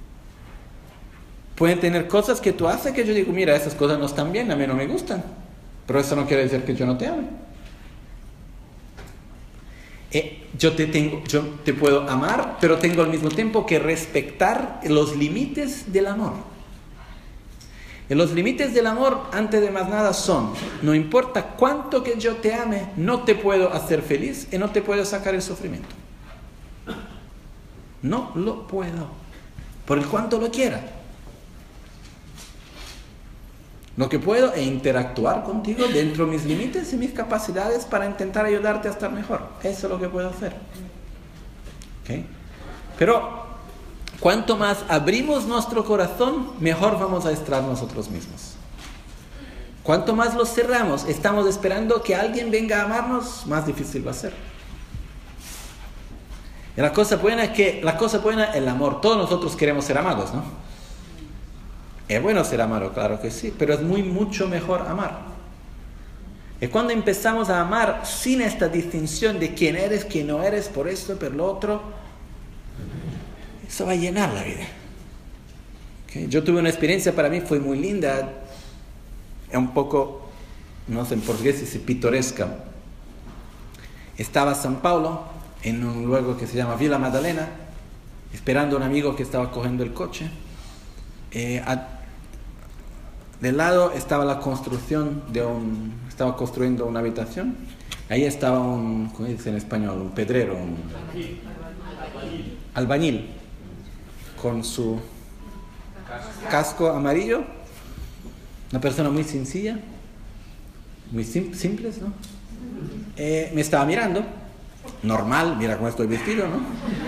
Pueden tener cosas que tú haces que yo digo, mira, esas cosas no están bien, a mí no me gustan. Pero eso no quiere decir que yo no te ame. Eh, yo, te tengo, yo te puedo amar, pero tengo al mismo tiempo que respetar los límites del amor. Y los límites del amor, antes de más nada, son: no importa cuánto que yo te ame, no te puedo hacer feliz y no te puedo sacar el sufrimiento. No lo puedo, por el cuanto lo quiera. Lo que puedo es interactuar contigo dentro de mis límites y mis capacidades para intentar ayudarte a estar mejor. Eso es lo que puedo hacer. ¿Okay? Pero cuanto más abrimos nuestro corazón, mejor vamos a estar nosotros mismos. Cuanto más lo cerramos, estamos esperando que alguien venga a amarnos, más difícil va a ser. Y la cosa buena es que la cosa buena es el amor. Todos nosotros queremos ser amados, ¿no? Es bueno ser amado, claro que sí, pero es muy mucho mejor amar. Y cuando empezamos a amar sin esta distinción de quién eres, quién no eres, por esto, por lo otro, eso va a llenar la vida. ¿Okay? Yo tuve una experiencia, para mí fue muy linda, es un poco, no sé en portugués si dice pitoresca. Estaba en São Paulo, en un lugar que se llama Vila Madalena, esperando a un amigo que estaba cogiendo el coche. Eh, a, del lado estaba la construcción de un, estaba construyendo una habitación. Ahí estaba un, ¿cómo dice en español? Un pedrero, un albañil, con su casco amarillo. Una persona muy sencilla, muy sim- simples, ¿no? Eh, me estaba mirando, normal, mira cómo estoy vestido, ¿no?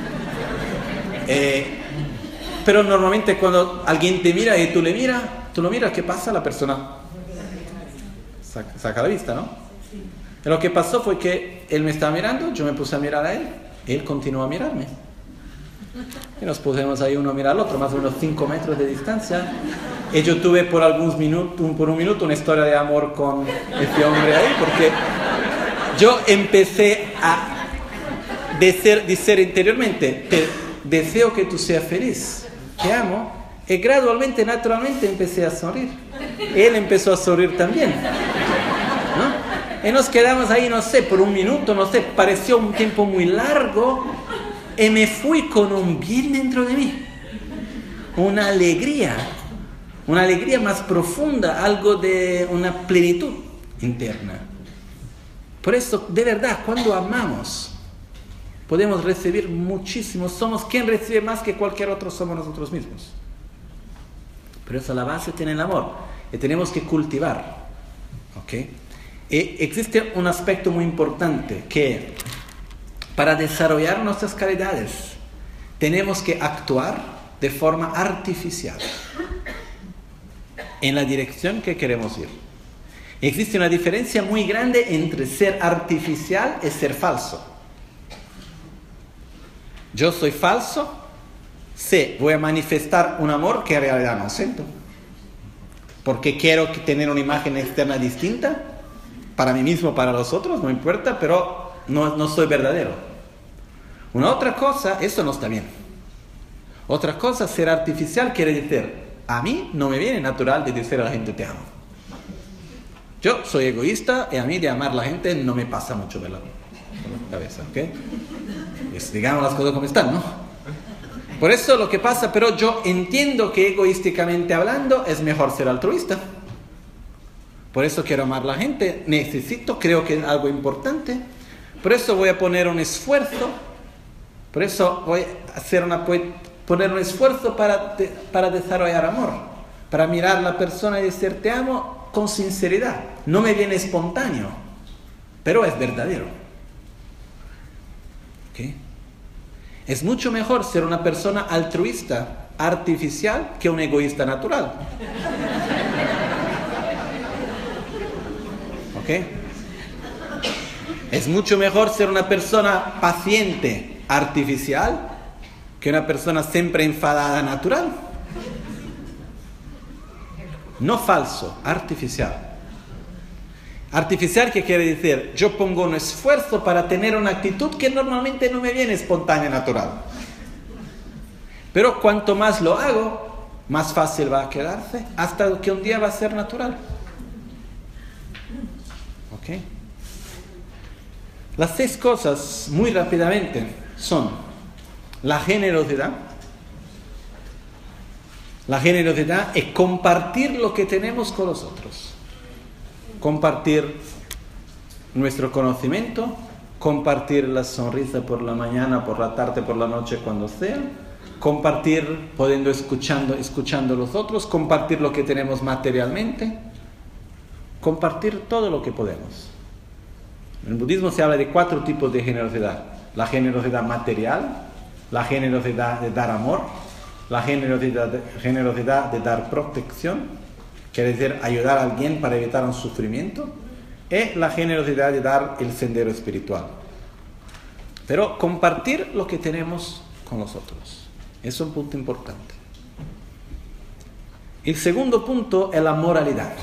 Eh, pero normalmente cuando alguien te mira y tú le miras, tú lo miras, ¿qué pasa? La persona saca, saca la vista, ¿no? Y lo que pasó fue que él me estaba mirando, yo me puse a mirar a él, él continuó a mirarme. Y nos pusimos ahí uno a mirar al otro, más o menos cinco metros de distancia. Y yo tuve por algunos minutos, por un minuto, una historia de amor con este hombre ahí, porque yo empecé a decir, decir interiormente, te deseo que tú seas feliz. Te amo, y gradualmente, naturalmente empecé a sonreír. Él empezó a sonreír también, ¿no? Y nos quedamos ahí, no sé, por un minuto, no sé, pareció un tiempo muy largo, y me fui con un bien dentro de mí, una alegría, una alegría más profunda, algo de una plenitud interna. Por eso, de verdad, cuando amamos, podemos recibir muchísimo. Somos quien recibe más que cualquier otro, somos nosotros mismos. Pero esa la base tiene el amor. Y tenemos que cultivar. ¿Ok? Y existe un aspecto muy importante que para desarrollar nuestras calidades tenemos que actuar de forma artificial en la dirección que queremos ir. Y existe una diferencia muy grande entre ser artificial y ser falso. Yo soy falso, sí, voy a manifestar un amor que en realidad no siento. Porque quiero tener una imagen externa distinta, para mí mismo, para los otros, no importa, pero no, no soy verdadero. Una otra cosa, eso no está bien. Otra cosa, ser artificial quiere decir, a mí no me viene natural de decir a la gente te amo. Yo soy egoísta y a mí de amar a la gente no me pasa mucho por la cabeza, ¿ok? Pues digamos las cosas como están, ¿no? Por eso lo que pasa, pero yo entiendo que egoísticamente hablando es mejor ser altruista. Por eso quiero amar a la gente, necesito, creo que es algo importante. Por eso voy a poner un esfuerzo, por eso voy a hacer una, poner un esfuerzo para, para desarrollar amor, para mirar a la persona y decir te amo con sinceridad. No me viene espontáneo, pero es verdadero. ¿Okay? Es mucho mejor ser una persona altruista, artificial, que un egoísta natural. ¿Ok? Es mucho mejor ser una persona paciente, artificial, que una persona siempre enfadada, natural. No falso, artificial. Artificial, ¿qué quiere decir? Yo pongo un esfuerzo para tener una actitud que normalmente no me viene espontánea, natural. Pero cuanto más lo hago, más fácil va a quedarse, hasta que un día va a ser natural. ¿Ok? Las seis cosas, muy rápidamente, son la generosidad, La generosidad es compartir lo que tenemos con los otros. Compartir nuestro conocimiento, compartir la sonrisa por la mañana, por la tarde, por la noche, cuando sea. Compartir, podiendo escuchando, escuchando a los otros, compartir lo que tenemos materialmente, compartir todo lo que podemos. En el budismo se habla de cuatro tipos de generosidad: la generosidad material, la generosidad de dar amor, la generosidad de, generosidad de dar protección, quiere decir ayudar a alguien para evitar un sufrimiento, y la generosidad de dar el sendero espiritual. Pero compartir lo que tenemos con los otros es un punto importante. El segundo punto es la moralidad.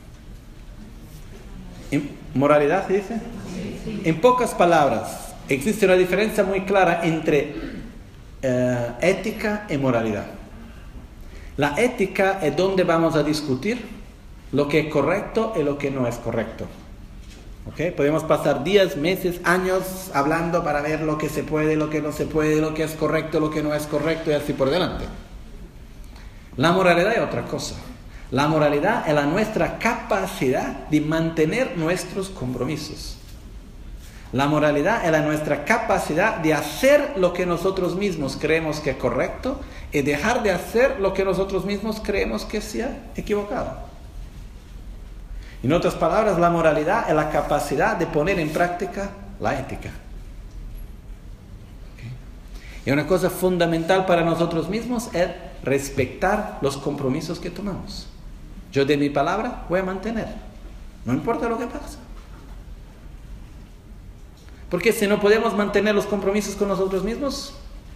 ¿Moralidad se dice? En pocas palabras, existe una diferencia muy clara entre eh, ética y moralidad. La ética es donde vamos a discutir lo que es correcto y lo que no es correcto. ¿Okay? Podemos pasar días, meses, años hablando para ver lo que se puede, lo que no se puede, lo que es correcto, lo que no es correcto y así por delante. La moralidad es otra cosa. La moralidad es la nuestra capacidad de mantener nuestros compromisos. La moralidad es la nuestra capacidad de hacer lo que nosotros mismos creemos que es correcto y dejar de hacer lo que nosotros mismos creemos que sea equivocado. En otras palabras, la moralidad es la capacidad de poner en práctica la ética. ¿Okay? Y una cosa fundamental para nosotros mismos es respetar los compromisos que tomamos. Yo de mi palabra voy a mantener, no importa lo que pase. Porque si no podemos mantener los compromisos con nosotros mismos,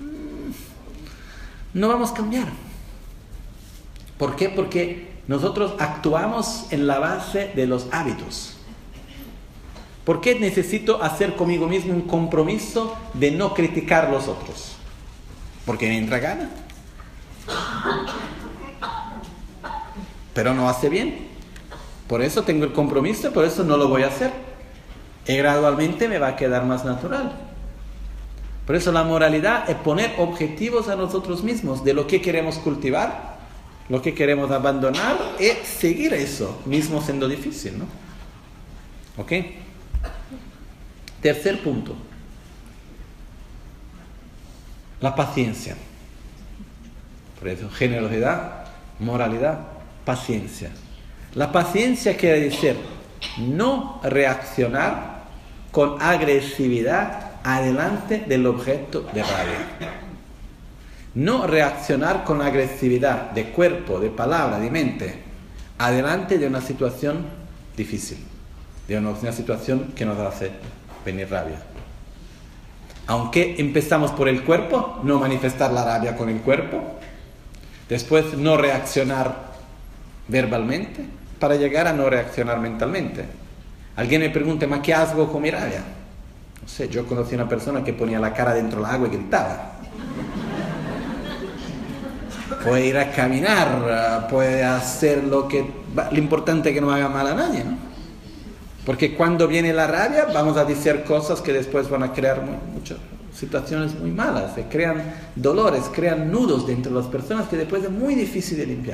no vamos a cambiar. ¿Por qué? Porque nosotros actuamos en la base de los hábitos. ¿Por qué necesito hacer conmigo mismo un compromiso de no criticar a los otros? Porque me entra gana. Pero no hace bien. Por eso tengo el compromiso, por eso no lo voy a hacer. Y gradualmente me va a quedar más natural. Por eso la moralidad es poner objetivos a nosotros mismos de lo que queremos cultivar, lo que queremos abandonar, y seguir eso, mismo siendo difícil, ¿no? ¿Ok? Tercer punto. La paciencia. Por eso, generosidad, moralidad, paciencia. La paciencia quiere decir no reaccionar con agresividad adelante del objeto de rabia. No reaccionar con agresividad de cuerpo, de palabra, de mente, adelante de una situación difícil, de una, una situación que nos hace venir rabia. Aunque empezamos por el cuerpo, no manifestar la rabia con el cuerpo, después no reaccionar verbalmente, para llegar a no reaccionar mentalmente. Alguien me pregunta, ¿ma qué hago con mi rabia? No sé, yo conocí a una persona que ponía la cara dentro del agua y gritaba. Puede ir a caminar, puede hacer lo que... Lo importante es que no haga mal a nadie, ¿no? Porque cuando viene la rabia, vamos a decir cosas que después van a crear muy, muchas situaciones muy malas, se crean dolores, crean nudos dentro de las personas que después es muy difícil de limpiar.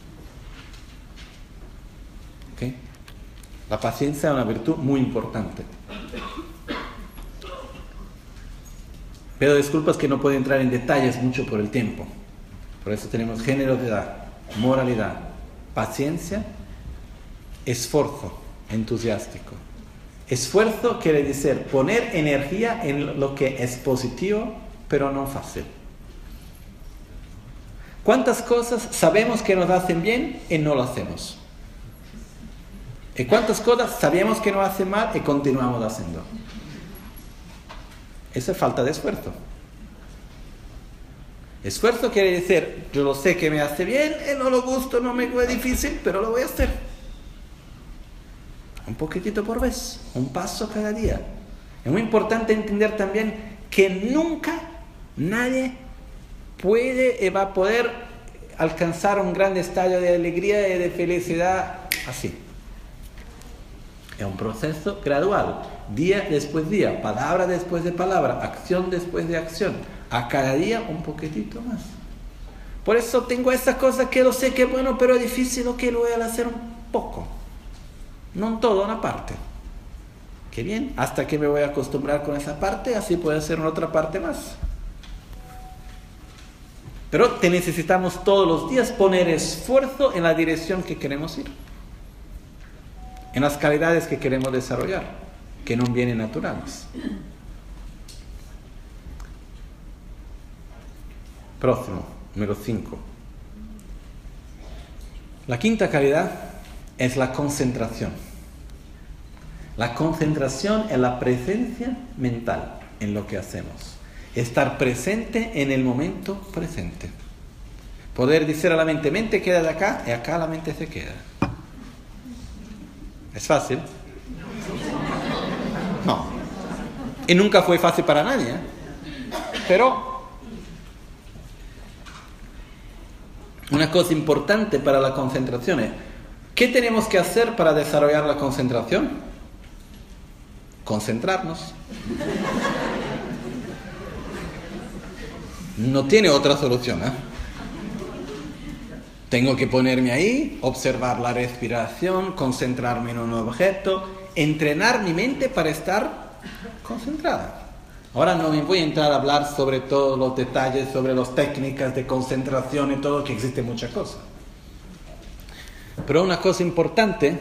¿Okay? La paciencia es una virtud muy importante. Pido disculpas que no puedo entrar en detalles mucho por el tiempo. Por eso tenemos generosidad, moralidad, paciencia, esfuerzo entusiástico. Esfuerzo quiere decir poner energía en lo que es positivo, pero no fácil. ¿Cuántas cosas sabemos que nos hacen bien y no lo hacemos? ¿Y cuántas cosas sabemos que nos hacen mal y continuamos haciendo? Esa es falta de esfuerzo. Esfuerzo quiere decir, yo lo sé que me hace bien, y no lo gusto, no me es difícil, pero lo voy a hacer. Un poquitito por vez, un paso cada día. Es muy importante entender también que nunca nadie puede y va a poder alcanzar un gran estadio de alegría y de felicidad así. Es un proceso gradual, día después de día, palabra después de palabra, acción después de acción. A cada día un poquitito más. Por eso tengo esa cosa que lo sé que es bueno, pero es difícil, lo que lo voy a hacer un poco. No en todo, una parte. Qué bien, hasta que me voy a acostumbrar con esa parte, así puedo hacer otra parte más. Pero te necesitamos todos los días poner esfuerzo en la dirección que queremos ir, en las calidades que queremos desarrollar, que no vienen naturales. Próximo, número cinco. La quinta calidad es la concentración. La concentración es la presencia mental en lo que hacemos. Estar presente en el momento presente. Poder decir a la mente, mente queda de acá, y acá la mente se queda. ¿Es fácil? No. Y nunca fue fácil para nadie, ¿eh? Pero una cosa importante para la concentración es, ¿qué tenemos que hacer para desarrollar la concentración? Concentrarnos. No tiene otra solución, ¿eh? Tengo que ponerme ahí, observar la respiración, concentrarme en un objeto, entrenar mi mente para estar concentrada. Ahora no me voy a entrar a hablar sobre todos los detalles, sobre las técnicas de concentración y todo, que existe mucha cosa. Pero una cosa importante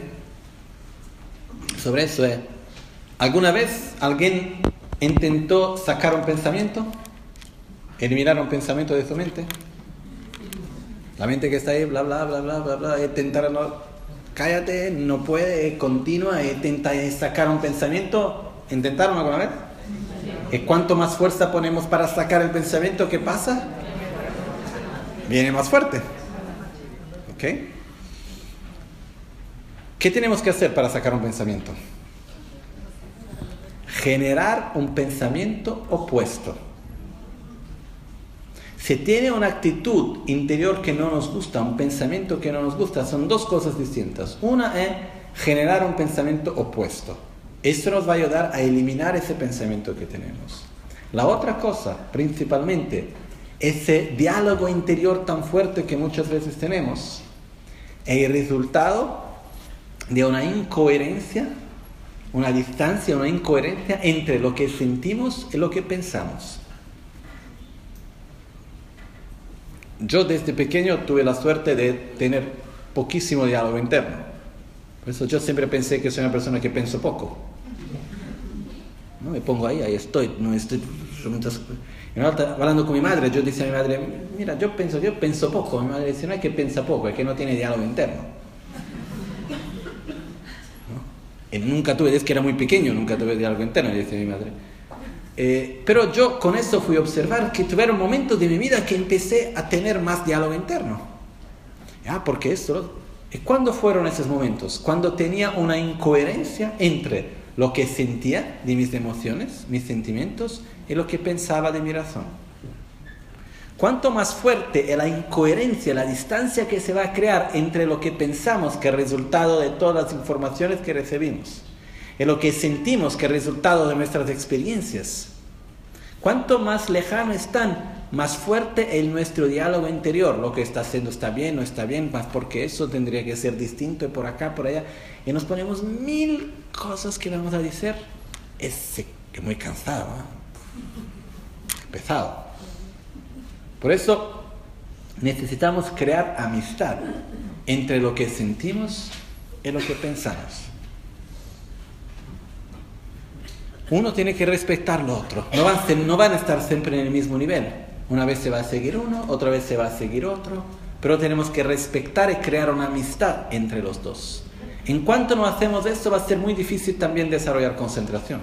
sobre eso es, ¿alguna vez alguien intentó sacar un pensamiento? ¿Eliminar un pensamiento de su mente? La mente que está ahí, bla, bla, bla, bla, bla, bla, intentar, no, cállate, no puede, continúa, intenta sacar un pensamiento. ¿Intentaron alguna vez? ¿Y cuánto más fuerza ponemos para sacar el pensamiento? ¿Qué pasa? Viene más fuerte. ¿Ok? ¿Qué tenemos que hacer para sacar un pensamiento? Generar un pensamiento opuesto. Si tiene una actitud interior que no nos gusta, un pensamiento que no nos gusta, son dos cosas distintas. Una es generar un pensamiento opuesto. Esto nos va a ayudar a eliminar ese pensamiento que tenemos. La otra cosa, principalmente, ese diálogo interior tan fuerte que muchas veces tenemos, es el resultado de una incoherencia, una distancia, una incoherencia entre lo que sentimos y lo que pensamos. Yo desde pequeño tuve la suerte de tener poquísimo diálogo interno. Por eso yo siempre pensé que soy una persona que pienso poco. No me pongo ahí, ahí estoy, no estoy... Hablando con mi madre, yo decía a mi madre, mira, yo pienso, yo pienso poco. Mi madre decía, no es que piensa poco, es que no tiene diálogo interno. ¿No? Y nunca tuve, es que era muy pequeño, nunca tuve diálogo interno, decía mi madre. Eh, pero yo con eso fui a observar que tuvieron momentos de mi vida que empecé a tener más diálogo interno. Ah, porque esto... ¿Cuándo fueron esos momentos? Cuando tenía una incoherencia entre lo que sentía de mis emociones, mis sentimientos, y lo que pensaba de mi razón. Cuanto más fuerte es la incoherencia, la distancia que se va a crear entre lo que pensamos que es resultado de todas las informaciones que recibimos, y lo que sentimos que es resultado de nuestras experiencias, cuanto más lejano están, más fuerte es nuestro diálogo interior. Lo que está haciendo está bien, no está bien, más porque eso tendría que ser distinto, y por acá, por allá, y nos ponemos mil cosas que vamos a decir. Es que muy cansado, ¿eh? Pesado. Por eso necesitamos crear amistad entre lo que sentimos y lo que pensamos. Uno tiene que respetar lo otro. No van, no van a estar siempre en el mismo nivel. Una vez se va a seguir uno, otra vez se va a seguir otro. Pero tenemos que respetar y crear una amistad entre los dos. En cuanto no hacemos esto, va a ser muy difícil también desarrollar concentración.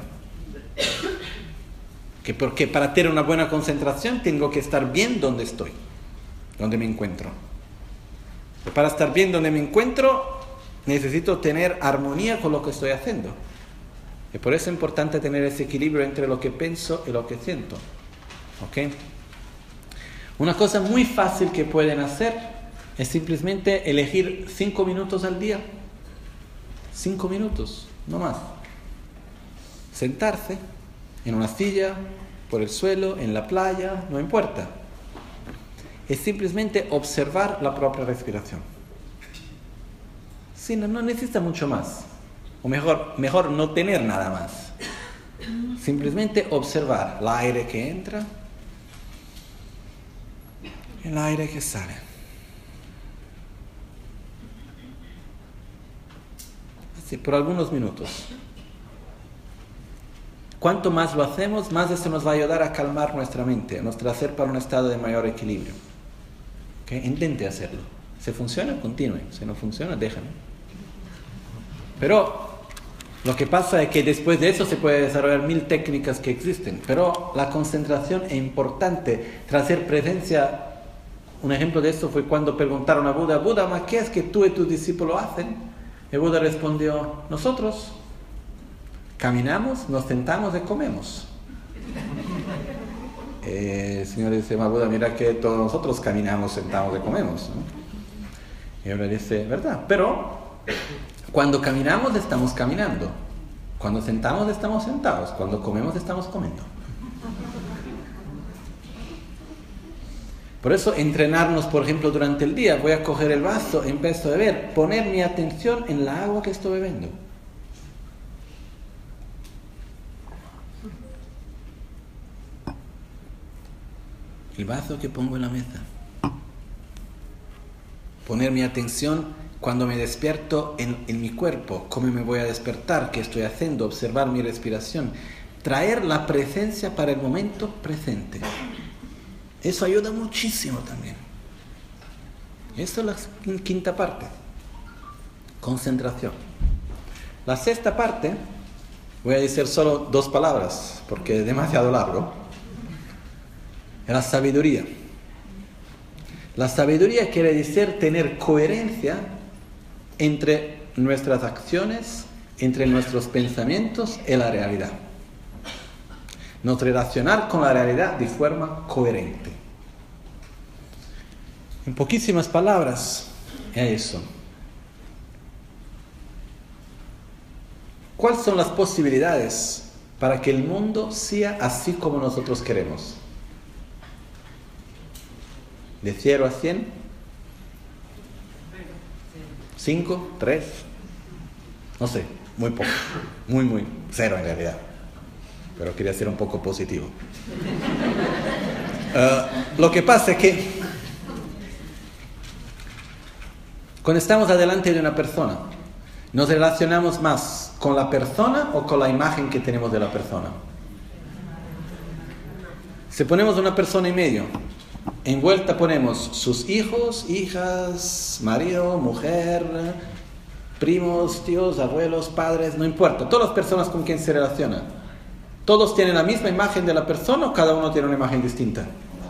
Que porque para tener una buena concentración tengo que estar bien donde estoy, donde me encuentro. Y para estar bien donde me encuentro, necesito tener armonía con lo que estoy haciendo. Y por eso es importante tener ese equilibrio entre lo que pienso y lo que siento. ¿Ok? Una cosa muy fácil que pueden hacer es simplemente elegir cinco minutos al día. Cinco minutos, no más. Sentarse en una silla, por el suelo, en la playa, no importa. es simplemente observar la propia respiración. Sí, no, no necesita mucho más. O mejor, mejor no tener nada más. Simplemente observar el aire que entra, el aire que sale. Así, por algunos minutos. Cuanto más lo hacemos, más eso nos va a ayudar a calmar nuestra mente, a nos traer para un estado de mayor equilibrio. ¿Okay? Intente hacerlo. Si funciona, continúe. Si no funciona, déjalo. Pero lo que pasa es que después de eso se puede desarrollar mil técnicas que existen. Pero la concentración es importante. Traer presencia. Un ejemplo de esto fue cuando preguntaron a Buda: Buda, ¿ma qué es que tú y tus discípulos hacen? Y Buda respondió: nosotros caminamos, nos sentamos y comemos. Eh, el Señor dice: ma Buda, mira que todos nosotros caminamos, sentamos y comemos, ¿no? Y ahora dice: verdad, pero cuando caminamos estamos caminando, cuando sentamos estamos sentados, cuando comemos estamos comiendo. Por eso entrenarnos, por ejemplo, durante el día, voy a coger el vaso, empiezo a beber, poner mi atención en la agua que estoy bebiendo. El vaso que pongo en la mesa. Poner mi atención cuando me despierto en, en mi cuerpo, cómo me voy a despertar, qué estoy haciendo, observar mi respiración. Traer la presencia para el momento presente. Eso ayuda muchísimo también. Esto es la quinta parte. Concentración. La sexta parte, voy a decir solo dos palabras, porque es demasiado largo. Es la sabiduría. La sabiduría quiere decir tener coherencia entre nuestras acciones, entre nuestros pensamientos y la realidad. Nos relacionar con la realidad de forma coherente. En poquísimas palabras, es eso. ¿Cuáles son las posibilidades para que el mundo sea así como nosotros queremos? ¿De cero a cien? ¿cinco? ¿tres? No sé, muy poco. Muy, muy. Cero en realidad. Pero quería ser un poco positivo. Uh, lo que pasa es que cuando estamos adelante de una persona, ¿nos relacionamos más con la persona o con la imagen que tenemos de la persona? Si ponemos una persona en medio, envuelta ponemos sus hijos, hijas, marido, mujer, primos, tíos, abuelos, padres, no importa, todas las personas con quien se relacionan. ¿Todos tienen la misma imagen de la persona o cada uno tiene una imagen distinta?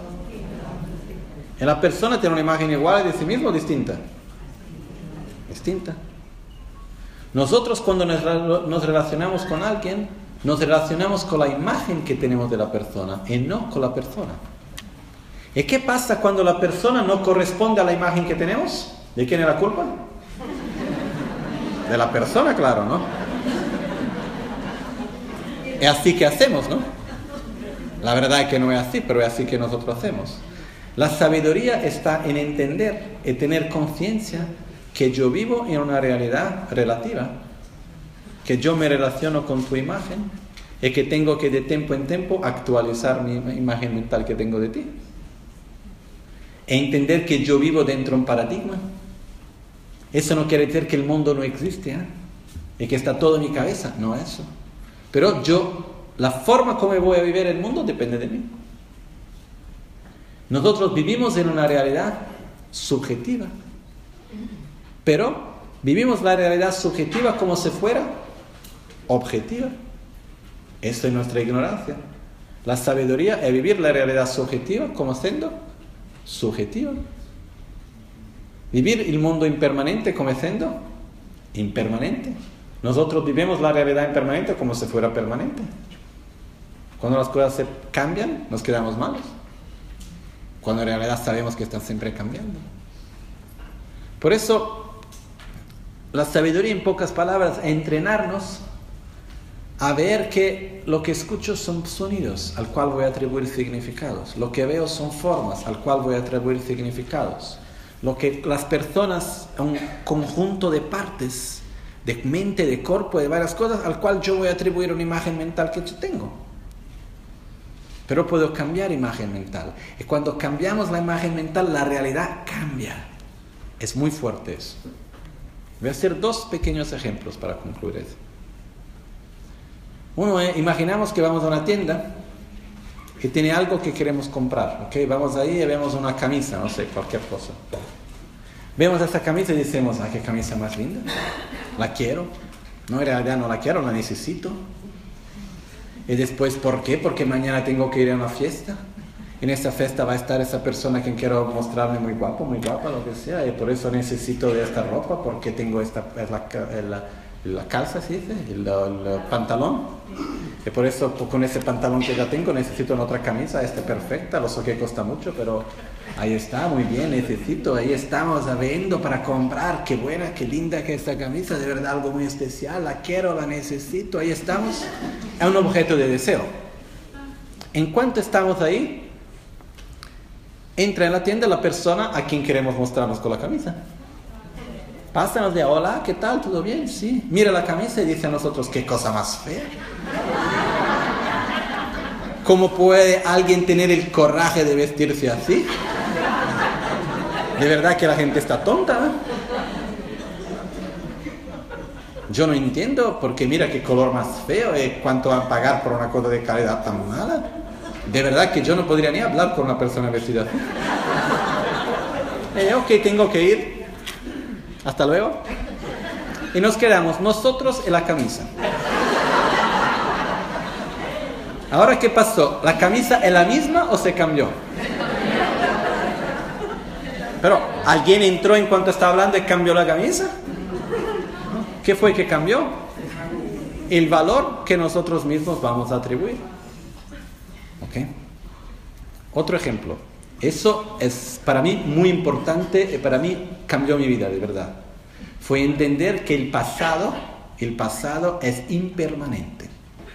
¿En la persona tiene una imagen igual de sí mismo o distinta? Distinta. Nosotros cuando nos, nos relacionamos con alguien, nos relacionamos con la imagen que tenemos de la persona y no con la persona. ¿Y qué pasa cuando la persona no corresponde a la imagen que tenemos? ¿De quién es la culpa? De la persona, claro, ¿no? Es así que hacemos, ¿no? La verdad es que no es así, pero es así que nosotros hacemos. La sabiduría está en entender y tener conciencia que yo vivo en una realidad relativa, que yo me relaciono con tu imagen y que tengo que de tiempo en tiempo actualizar mi imagen mental que tengo de ti. E entender que yo vivo dentro de un paradigma. Eso no quiere decir que el mundo no existe, ¿eh? Y que está todo en mi cabeza, no es eso. Pero yo, la forma como voy a vivir el mundo depende de mí. Nosotros vivimos en una realidad subjetiva, pero vivimos la realidad subjetiva como si fuera objetiva. Esto es nuestra ignorancia. La sabiduría es vivir la realidad subjetiva como siendo subjetiva. Vivir el mundo impermanente como siendo impermanente. Nosotros vivimos la realidad impermanente como si fuera permanente. Cuando las cosas se cambian, nos quedamos malos. Cuando en realidad sabemos que están siempre cambiando. Por eso, la sabiduría, en pocas palabras, es entrenarnos a ver que lo que escucho son sonidos al cual voy a atribuir significados, lo que veo son formas al cual voy a atribuir significados, lo que las personas, un conjunto de partes, de mente, de cuerpo, de varias cosas, al cual yo voy a atribuir una imagen mental que yo tengo. Pero puedo cambiar imagen mental. Y cuando cambiamos la imagen mental, la realidad cambia. Es muy fuerte eso. Voy a hacer dos pequeños ejemplos para concluir eso. Uno es, imaginamos que vamos a una tienda que tiene algo que queremos comprar. ¿Okay? Vamos ahí y vemos una camisa, no sé, cualquier cosa. Vemos esa camisa y decimos, ah, qué camisa más linda. La quiero. No, en realidad no la quiero, la necesito. Y después, ¿por qué? Porque mañana tengo que ir a una fiesta. En esa fiesta va a estar esa persona que quiero mostrarme muy guapo, muy guapa, lo que sea. Y por eso necesito de esta ropa, porque tengo esta, la, la, la calza, ¿sí dice? El, el pantalón. Y por eso, con ese pantalón que ya tengo, necesito una otra camisa. Esta perfecta, lo sé que cuesta mucho, pero ahí está, muy bien, necesito. Ahí estamos viendo para comprar. Qué buena, qué linda que esta camisa, de verdad algo muy especial. La quiero, la necesito. Ahí estamos. Es un objeto de deseo. En cuanto estamos ahí, entra en la tienda la persona a quien queremos mostrarnos con la camisa. Pasa, nos dice, hola, ¿qué tal? ¿Todo bien? Sí. Mira la camisa y dice a nosotros, qué cosa más fea. ¿Cómo puede alguien tener el coraje de vestirse así? De verdad que la gente está tonta, ¿eh? Yo no entiendo, porque mira qué color más feo y cuánto van a pagar por una cosa de calidad tan mala. De verdad que yo no podría ni hablar con una persona vestida así. Eh, ok, tengo que ir. Hasta luego. Y nos quedamos nosotros en la camisa. Ahora, ¿qué pasó? ¿La camisa es la misma o se cambió? Pero, ¿alguien entró en cuanto estaba hablando y cambió la camisa? ¿Qué fue que cambió? El valor que nosotros mismos vamos a atribuir. ¿Ok? Otro ejemplo. Eso es para mí muy importante y para mí cambió mi vida, de verdad. Fue entender que el pasado, el pasado es impermanente.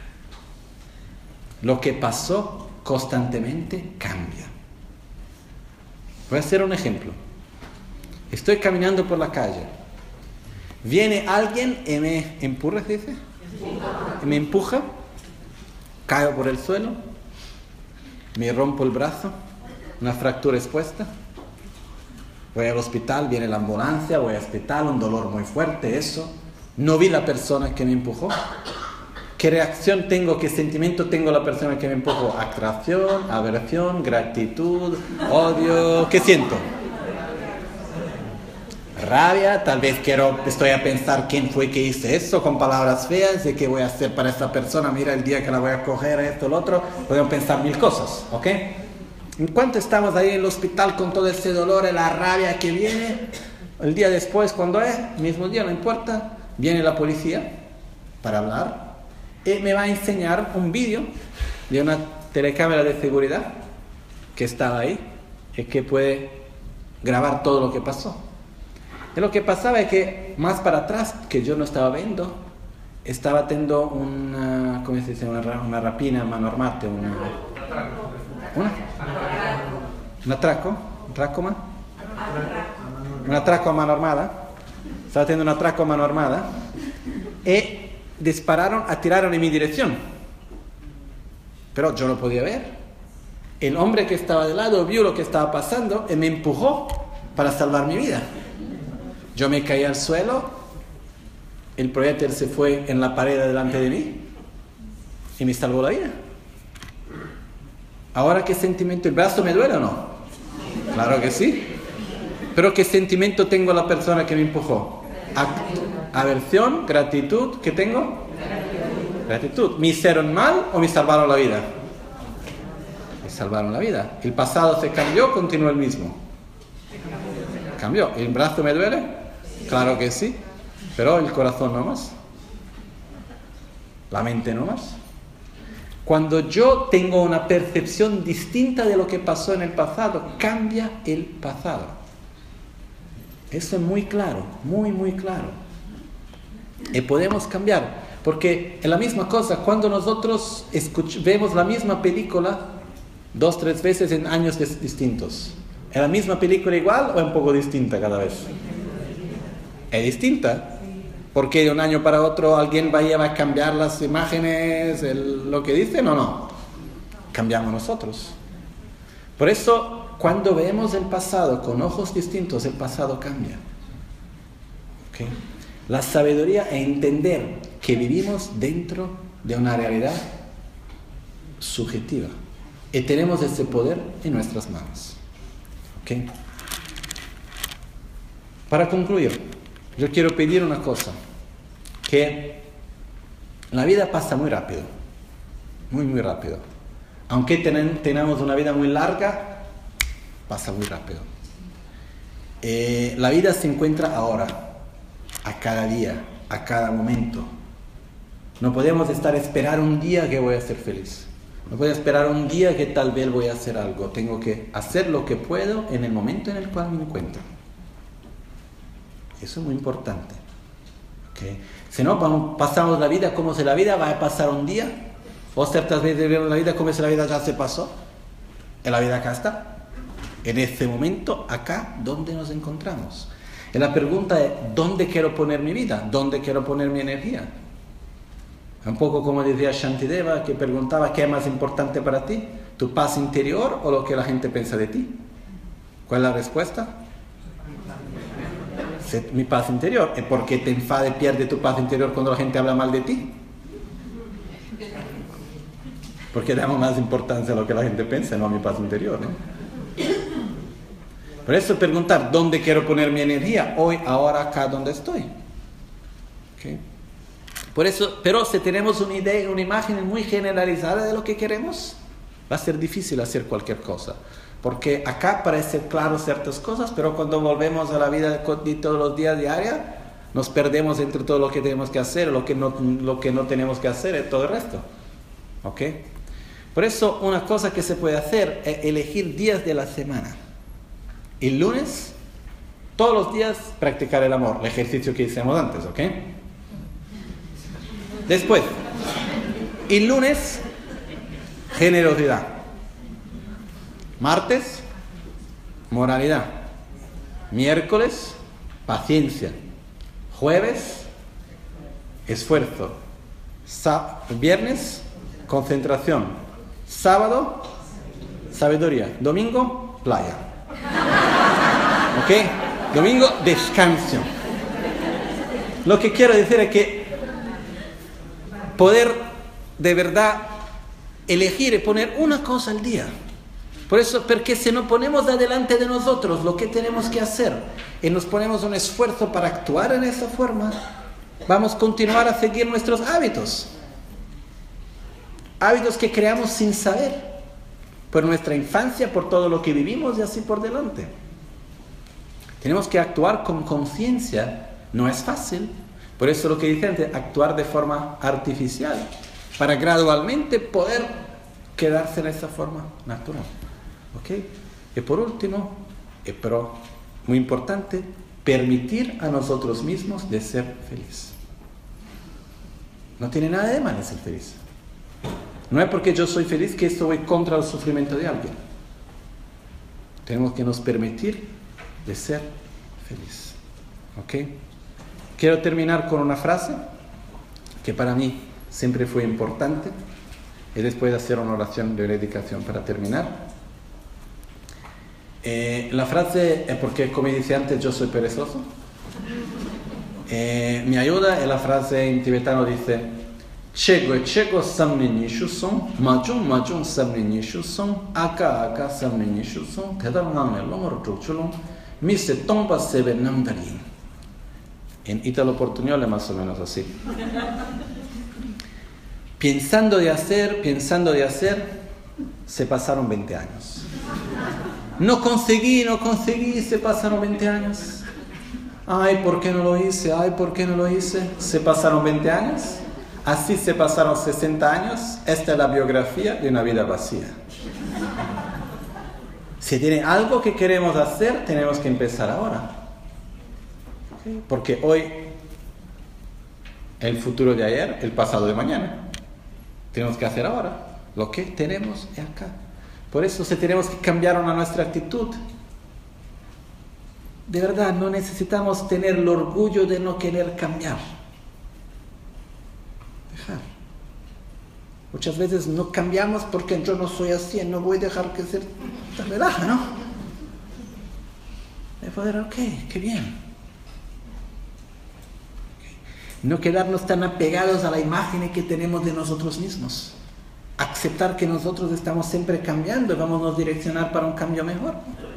Lo que pasó constantemente cambia. Voy a hacer un ejemplo. Estoy caminando por la calle. Viene alguien y me empuja, ¿se dice? Y me empuja. Caigo por el suelo. Me rompo el brazo. Una fractura expuesta. Voy al hospital, viene la ambulancia, voy al hospital, un dolor muy fuerte, eso. No vi la persona que me empujó. ¿Qué reacción tengo, qué sentimiento tengo la persona que me empujó? Atracción, aversión, gratitud, odio. ¿Qué siento? Rabia, tal vez quiero, estoy a pensar quién fue que hice eso, con palabras feas, de qué voy a hacer para esta persona, mira el día que la voy a coger, esto, lo otro. Podemos pensar mil cosas, ¿ok? En cuanto estamos ahí en el hospital con todo ese dolor y la rabia que viene, el día después, cuando es, mismo día, no importa, viene la policía para hablar y me va a enseñar un vídeo de una telecámara de seguridad que estaba ahí y que puede grabar todo lo que pasó. Y lo que pasaba es que más para atrás, que yo no estaba viendo, estaba teniendo una, ¿cómo se dice? Una, una rapina, mano armate, una... ¿Una? ¿Un atraco? ¿Un atraco, man? Un atraco a mano armada. Estaba teniendo un atraco a mano armada. Y dispararon, atiraron en mi dirección. Pero yo no podía ver. El hombre que estaba de lado vio lo que estaba pasando y me empujó para salvar mi vida. Yo me caí al suelo. El proyectil se fue en la pared delante de mí y me salvó la vida. Ahora, ¿qué sentimiento? ¿El brazo me duele o no? Claro que sí. Pero ¿qué sentimiento tengo la persona que me empujó? Aversión, gratitud. ¿Qué tengo? Gratitud. ¿Me hicieron mal o me salvaron la vida? Me salvaron la vida. ¿El pasado se cambió o continuó el mismo? Cambió. ¿El brazo me duele? Claro que sí. Pero el corazón no más. La mente no más. Cuando yo tengo una percepción distinta de lo que pasó en el pasado, cambia el pasado. Eso es muy claro, muy, muy claro. Y podemos cambiar. Porque es la misma cosa, cuando nosotros escuch- vemos la misma película dos, tres veces en años dis- distintos, ¿es la misma película igual o es un poco distinta cada vez? Es distinta, porque de un año para otro alguien vaya a cambiar las imágenes, el- lo que dicen o no. Cambiamos nosotros. Por eso, cuando vemos el pasado con ojos distintos, el pasado cambia. ¿Okay? La sabiduría es entender que vivimos dentro de una realidad subjetiva y tenemos ese poder en nuestras manos. ¿Okay? Para concluir, yo quiero pedir una cosa, que la vida pasa muy rápido, muy muy rápido. Aunque ten, tenemos una vida muy larga, pasa muy rápido. Eh, la vida se encuentra ahora, a cada día, a cada momento. No podemos estar esperar un día que voy a ser feliz. No puedo esperar un día que tal vez voy a hacer algo. Tengo que hacer lo que puedo en el momento en el cual me encuentro. Eso es muy importante. ¿Okay? Si no, pasamos la vida como si la vida va a pasar un día. O ciertas veces vemos la vida como si la vida ya se pasó. En la vida acá está. En este momento, acá, ¿dónde nos encontramos? Y la pregunta es, ¿dónde quiero poner mi vida? ¿Dónde quiero poner mi energía? Un poco como decía Shantideva, que preguntaba, ¿qué es más importante para ti? ¿Tu paz interior o lo que la gente piensa de ti? ¿Cuál es la respuesta? Mi paz interior. ¿Y por qué te enfada y pierdes tu paz interior cuando la gente habla mal de ti? Porque damos más importancia a lo que la gente piensa, no a mi paz interior, ¿no? Por eso preguntar, ¿dónde quiero poner mi energía? Hoy, ahora, acá, donde estoy. ¿Okay? Por eso, pero si tenemos una idea, una imagen muy generalizada de lo que queremos, va a ser difícil hacer cualquier cosa. Porque acá parecen claras ciertas cosas, pero cuando volvemos a la vida de todos los días diaria, nos perdemos entre todo lo que tenemos que hacer, lo que no, lo que no tenemos que hacer y todo el resto. ¿Ok? Por eso, una cosa que se puede hacer es elegir días de la semana. El lunes, todos los días, practicar el amor, el ejercicio que hicimos antes, ¿ok? Después, el lunes, generosidad. Martes, moralidad. Miércoles, paciencia. Jueves, esfuerzo. Sa- viernes, concentración. Sábado, sabiduría. Domingo, playa. ¿Ok? Domingo, descanso. Lo que quiero decir es que poder de verdad elegir y poner una cosa al día. Por eso, porque si nos ponemos adelante de nosotros lo que tenemos que hacer y nos ponemos un esfuerzo para actuar en esa forma, vamos a continuar a seguir nuestros hábitos. Hábitos que creamos sin saber. Por nuestra infancia, por todo lo que vivimos y así por delante. Tenemos que actuar con conciencia. No es fácil. Por eso lo que dice antes, actuar de forma artificial. Para gradualmente poder quedarse en esa forma natural. ¿Ok? Y por último, y pero muy importante, permitir a nosotros mismos de ser felices. No tiene nada de malo ser feliz. No es porque yo soy feliz que estoy contra el sufrimiento de alguien. Tenemos que nos permitir de ser feliz. ¿Ok? Quiero terminar con una frase que para mí siempre fue importante y después hacer una oración de dedicación para terminar. Eh, la frase es porque, como dije antes, yo soy perezoso. Eh, me ayuda y la frase en tibetano dice: Chego chego samne nishu son, majun majun samne nishu son, aka aka samne nishu son, tedam name lomor chuchulon, mi se tomba sebe namdarin. En ítalo portuñol es más o menos así. Pensando de hacer, pensando de hacer, se pasaron veinte años. No conseguí, no conseguí, se pasaron veinte años. Ay, ¿por qué no lo hice? Ay, ¿por qué no lo hice? Se pasaron veinte años. Así se pasaron sesenta años. Esta es la biografía de una vida vacía. Si tiene algo que queremos hacer, tenemos que empezar ahora. Porque hoy el futuro de ayer, el pasado de mañana. Tenemos que hacer ahora lo que tenemos acá. Por eso si tenemos que cambiar una nuestra actitud. De verdad, no necesitamos tener el orgullo de no querer cambiar. Dejar. Muchas veces no cambiamos porque yo no soy así, no voy a dejar que se relaja, ¿no? De poder, ok, qué bien. No quedarnos tan apegados a la imagen que tenemos de nosotros mismos. Aceptar que nosotros estamos siempre cambiando y vamos a direccionar para un cambio mejor.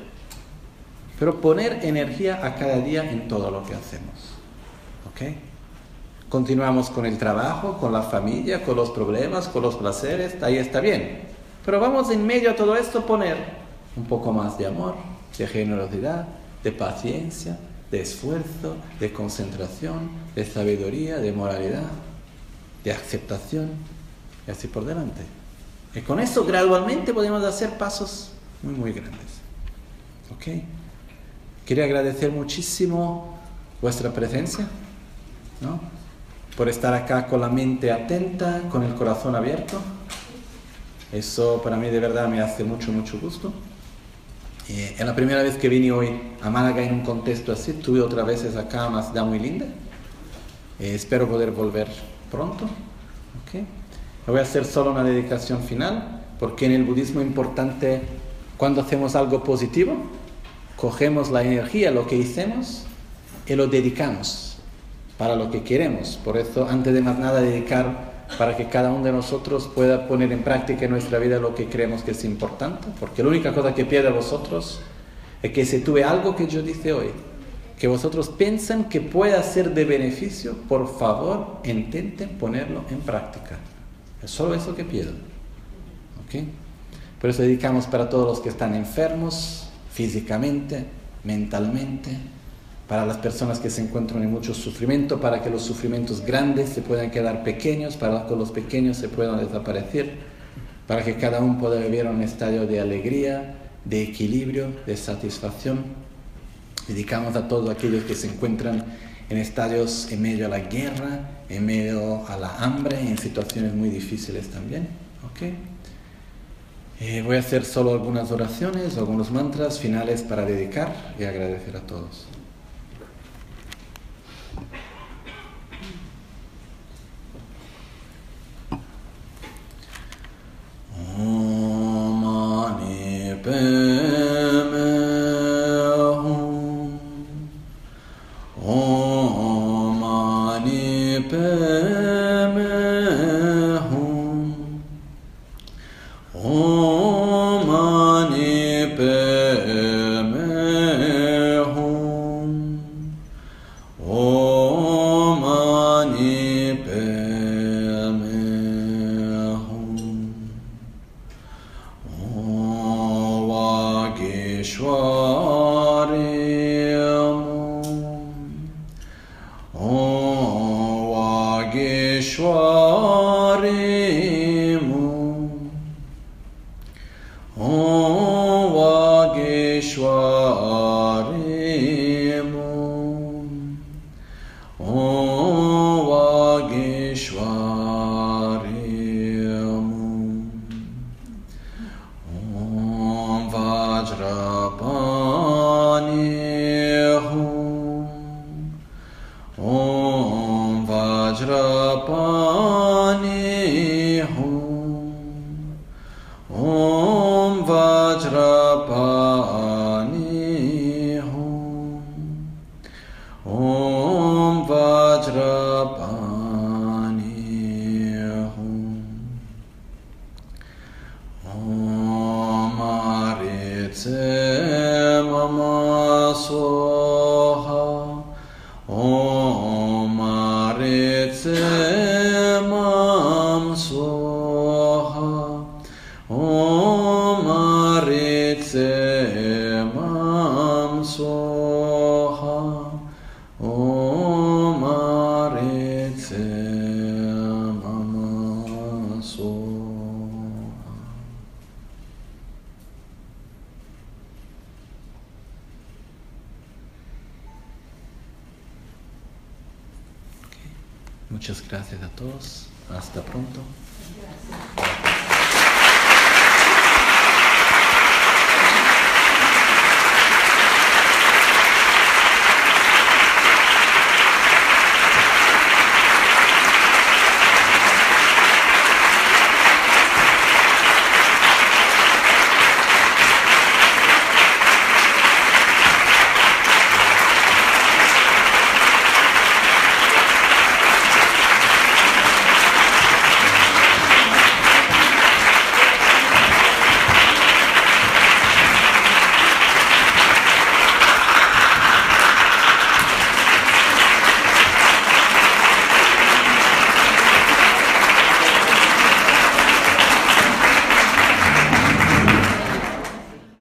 Pero poner energía a cada día en todo lo que hacemos. ¿Ok? Continuamos con el trabajo, con la familia, con los problemas, con los placeres, ahí está bien. Pero vamos en medio a todo esto poner un poco más de amor, de generosidad, de paciencia, de esfuerzo, de concentración, de sabiduría, de moralidad, de aceptación, y así por delante. Y con eso gradualmente podemos hacer pasos muy, muy grandes. ¿Ok? Quería agradecer muchísimo vuestra presencia, ¿no? Por estar acá con la mente atenta, con el corazón abierto. Eso para mí de verdad me hace mucho, mucho gusto. Eh, es la primera vez que vine hoy a Málaga en un contexto así. Tuve otras veces acá una ciudad muy linda. Eh, espero poder volver pronto. ¿Okay? Voy a hacer solo una dedicación final, porque en el budismo es importante, cuando hacemos algo positivo, cogemos la energía, lo que hicimos, y lo dedicamos para lo que queremos. Por eso, antes de más nada, dedicar para que cada uno de nosotros pueda poner en práctica en nuestra vida lo que creemos que es importante, porque la única cosa que pierde a vosotros es que si tuve algo que yo dije hoy, que vosotros piensan que pueda ser de beneficio, por favor, intenten ponerlo en práctica. Es solo eso que pido. ¿Okay? Por eso dedicamos para todos los que están enfermos, físicamente, mentalmente, para las personas que se encuentran en mucho sufrimiento, para que los sufrimientos grandes se puedan quedar pequeños, para que los pequeños se puedan desaparecer, para que cada uno pueda vivir un estadio de alegría, de equilibrio, de satisfacción. Dedicamos a todos aquellos que se encuentran en estadios en medio a la guerra, en medio a la hambre, en situaciones muy difíciles también. ¿Okay? Eh, voy a hacer solo algunas oraciones, algunos mantras finales para dedicar y agradecer a todos. Om Mani Padme Hum. Om Mani Padme Hum. Om Mani Padme Hum. Om Mani Padme Hum. Om Vageshwari Om. Om Vageshwari Om. Om Vageshwari Om. Om Vageshwari Om. Om Vajrapani Hum. Om Vajrapani Hum. Om Vajrapani Hum. Om Vajrapani Hum. Om Aritse Mama Soha. Om Aritse Mam Soha. Om Aritse Muchas gracias a todos. Hasta pronto.